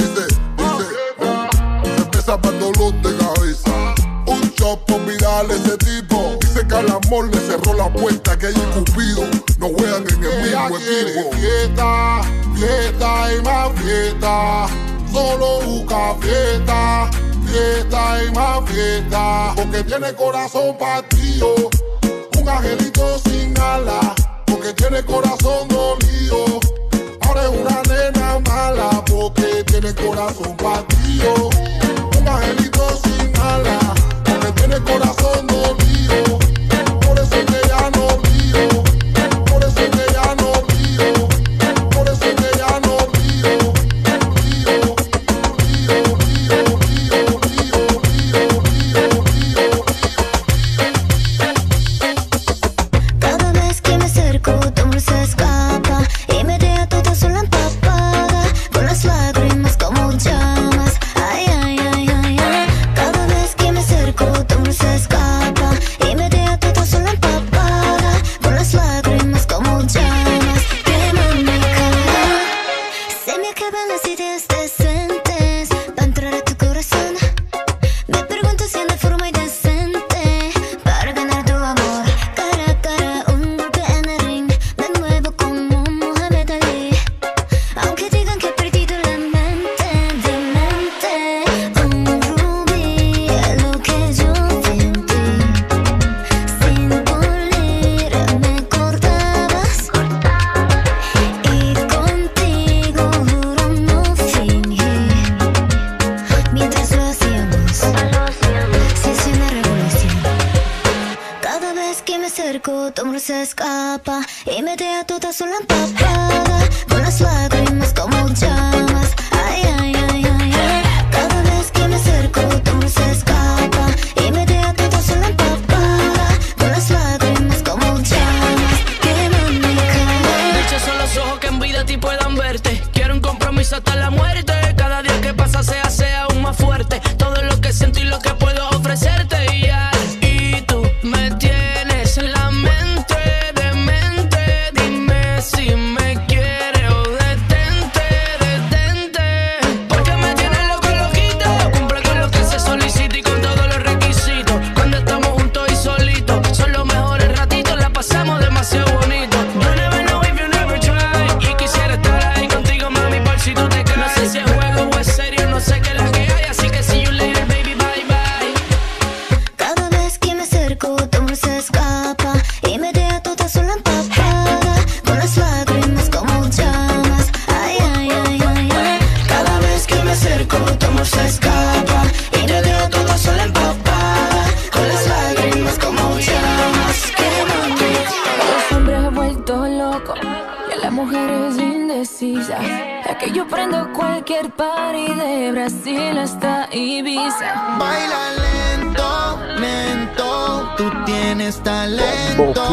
Dice, cerveza para dolor de cabeza. Un shot por mirar ese tipo. Dice que al amor le cerró la puerta, que ella y Cupido no juegan en el mismo equipo. Fiesta, fiesta y más fiesta. Solo busca fiesta, fiesta y más fiesta, porque tiene corazón partido. Un angelito sin alas, porque tiene corazón dolido. Ahora es una nena mala, porque tiene corazón partido. Un angelito sin alas, porque tiene corazón dolido. Por eso es que ya no lío, por eso es que ya no lío, por eso es que ya no lío. Cada vez que me acerco, tu amor se escapa y me deja toda sola empapada, con las lágrimas como llamas. Ay, ay, ay, ay, ay. Cada vez que me acerco, tu amor se escapa y me deja toda sola empapada, con las lágrimas como llamas. Queman mi cara, se me acaban las ideas decentes para entrar a tu corazón. Me pregunto si anda forma indecente para ganar tu amor. Cara a cara, un golpe en el ring, de nuevo como Muhammad Ali. Aunque digan que he perdido la mente, demente. Un rubí, lo que yo vi en ti. Sin pulir me cortabas, y contigo juro no fingí. Mientras lo hacíamos, se hizo una revolución. Cada vez que me acerco, tu amor se escapa y me deja toda sola empapada, con las lágrimas como llamas. Ay, ay, ay, ay, ay. Cada vez que me acerco, tu amor se escapa y me deja toda sola empapada, con las lágrimas como llamas. Queman mi cara. Dichos son los ojos que en vida a ti puedan verte. Quiero un compromiso hasta la muerte. Cada día que pasa se hace aún más fuerte. Todo lo que siento y lo que puedo ofrecerte. Y tú me tienes en la mente, demente. Dime si me quieres o detente, detente. Porque me tienes loco, loquito. Cumple con lo que se solicita y con todos los requisitos. Cuando estamos juntos y solitos, son los mejores ratitos, la pasamos demasiado bonito. You never know if you never try. Y quisiera estar ahí contigo, mami, por si tú te caes. No sé si es juego o es serio, no sé qué es la que hay. Así que see you later, baby, bye bye. Cada vez que me acerco, tu amor se escapa y me deja toda sola empapada, con las lágrimas como llamas. Ay, ay, ay, ay, ay. Cada vez que me acerco, tu amor se escapa y me deja toda sola empapada, con las lágrimas como llamas. Queman mi cara. Los hombres han vuelto locos y a las mujeres indecisas. Es que yo prendo cualquier party de Brasil hasta Ibiza. Baila lento, lento, tú tienes talento.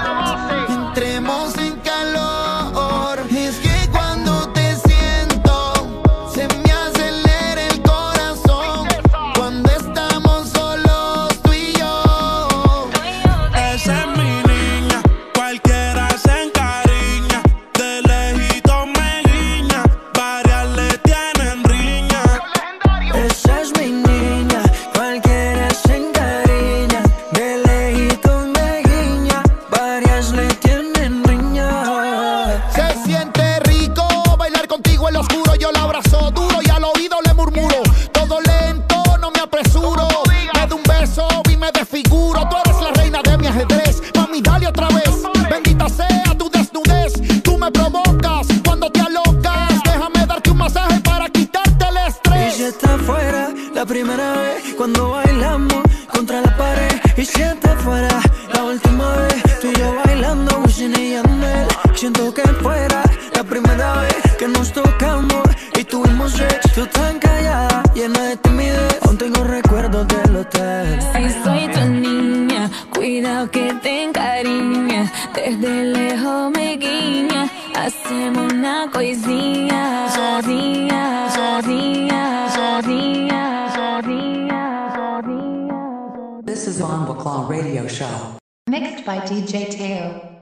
Entremos en calor. Es que cuando te siento, se me acelera el corazón. Cuando estamos solos tú y yo. Esa es mi niña, cualquiera se encariña. De lejito me guiña, varias le tienen riña. Esa es mi niña, cualquiera se encariña. De lejito me guiña, varias le tienen riña. Se siente rico bailar contigo en lo oscuro. Yo la abrazo duro y al oído le murmuro. Todo lento, no me apresuro. Me da un beso y me desfiguro. Tú eres la reina de mi ajedrez. Mami, dale otra vez. Bendita sea tu desnudez. Tú me provocas cuando te alocas. Déjame darte un masaje para quitarte el Y estrés. si está fuera la primera vez, cuando bailamos contra la pared. Y si está fuera la última vez, tú y yo bailando Wisin y Yandel. Siento que fuera la primera vez que nos tocamos y tuvimos sexo. Tú tan callada, llena de timidez, aún tengo recuerdos del hotel. Si soy tu niña, cuidado que te encariña. Desde lejos me guiña, hacemos una coisinha. Sozinha, sozinha, sozinha, sozinha, sozinha. This is on Claw Radio Show. Mixed by DJ Teo.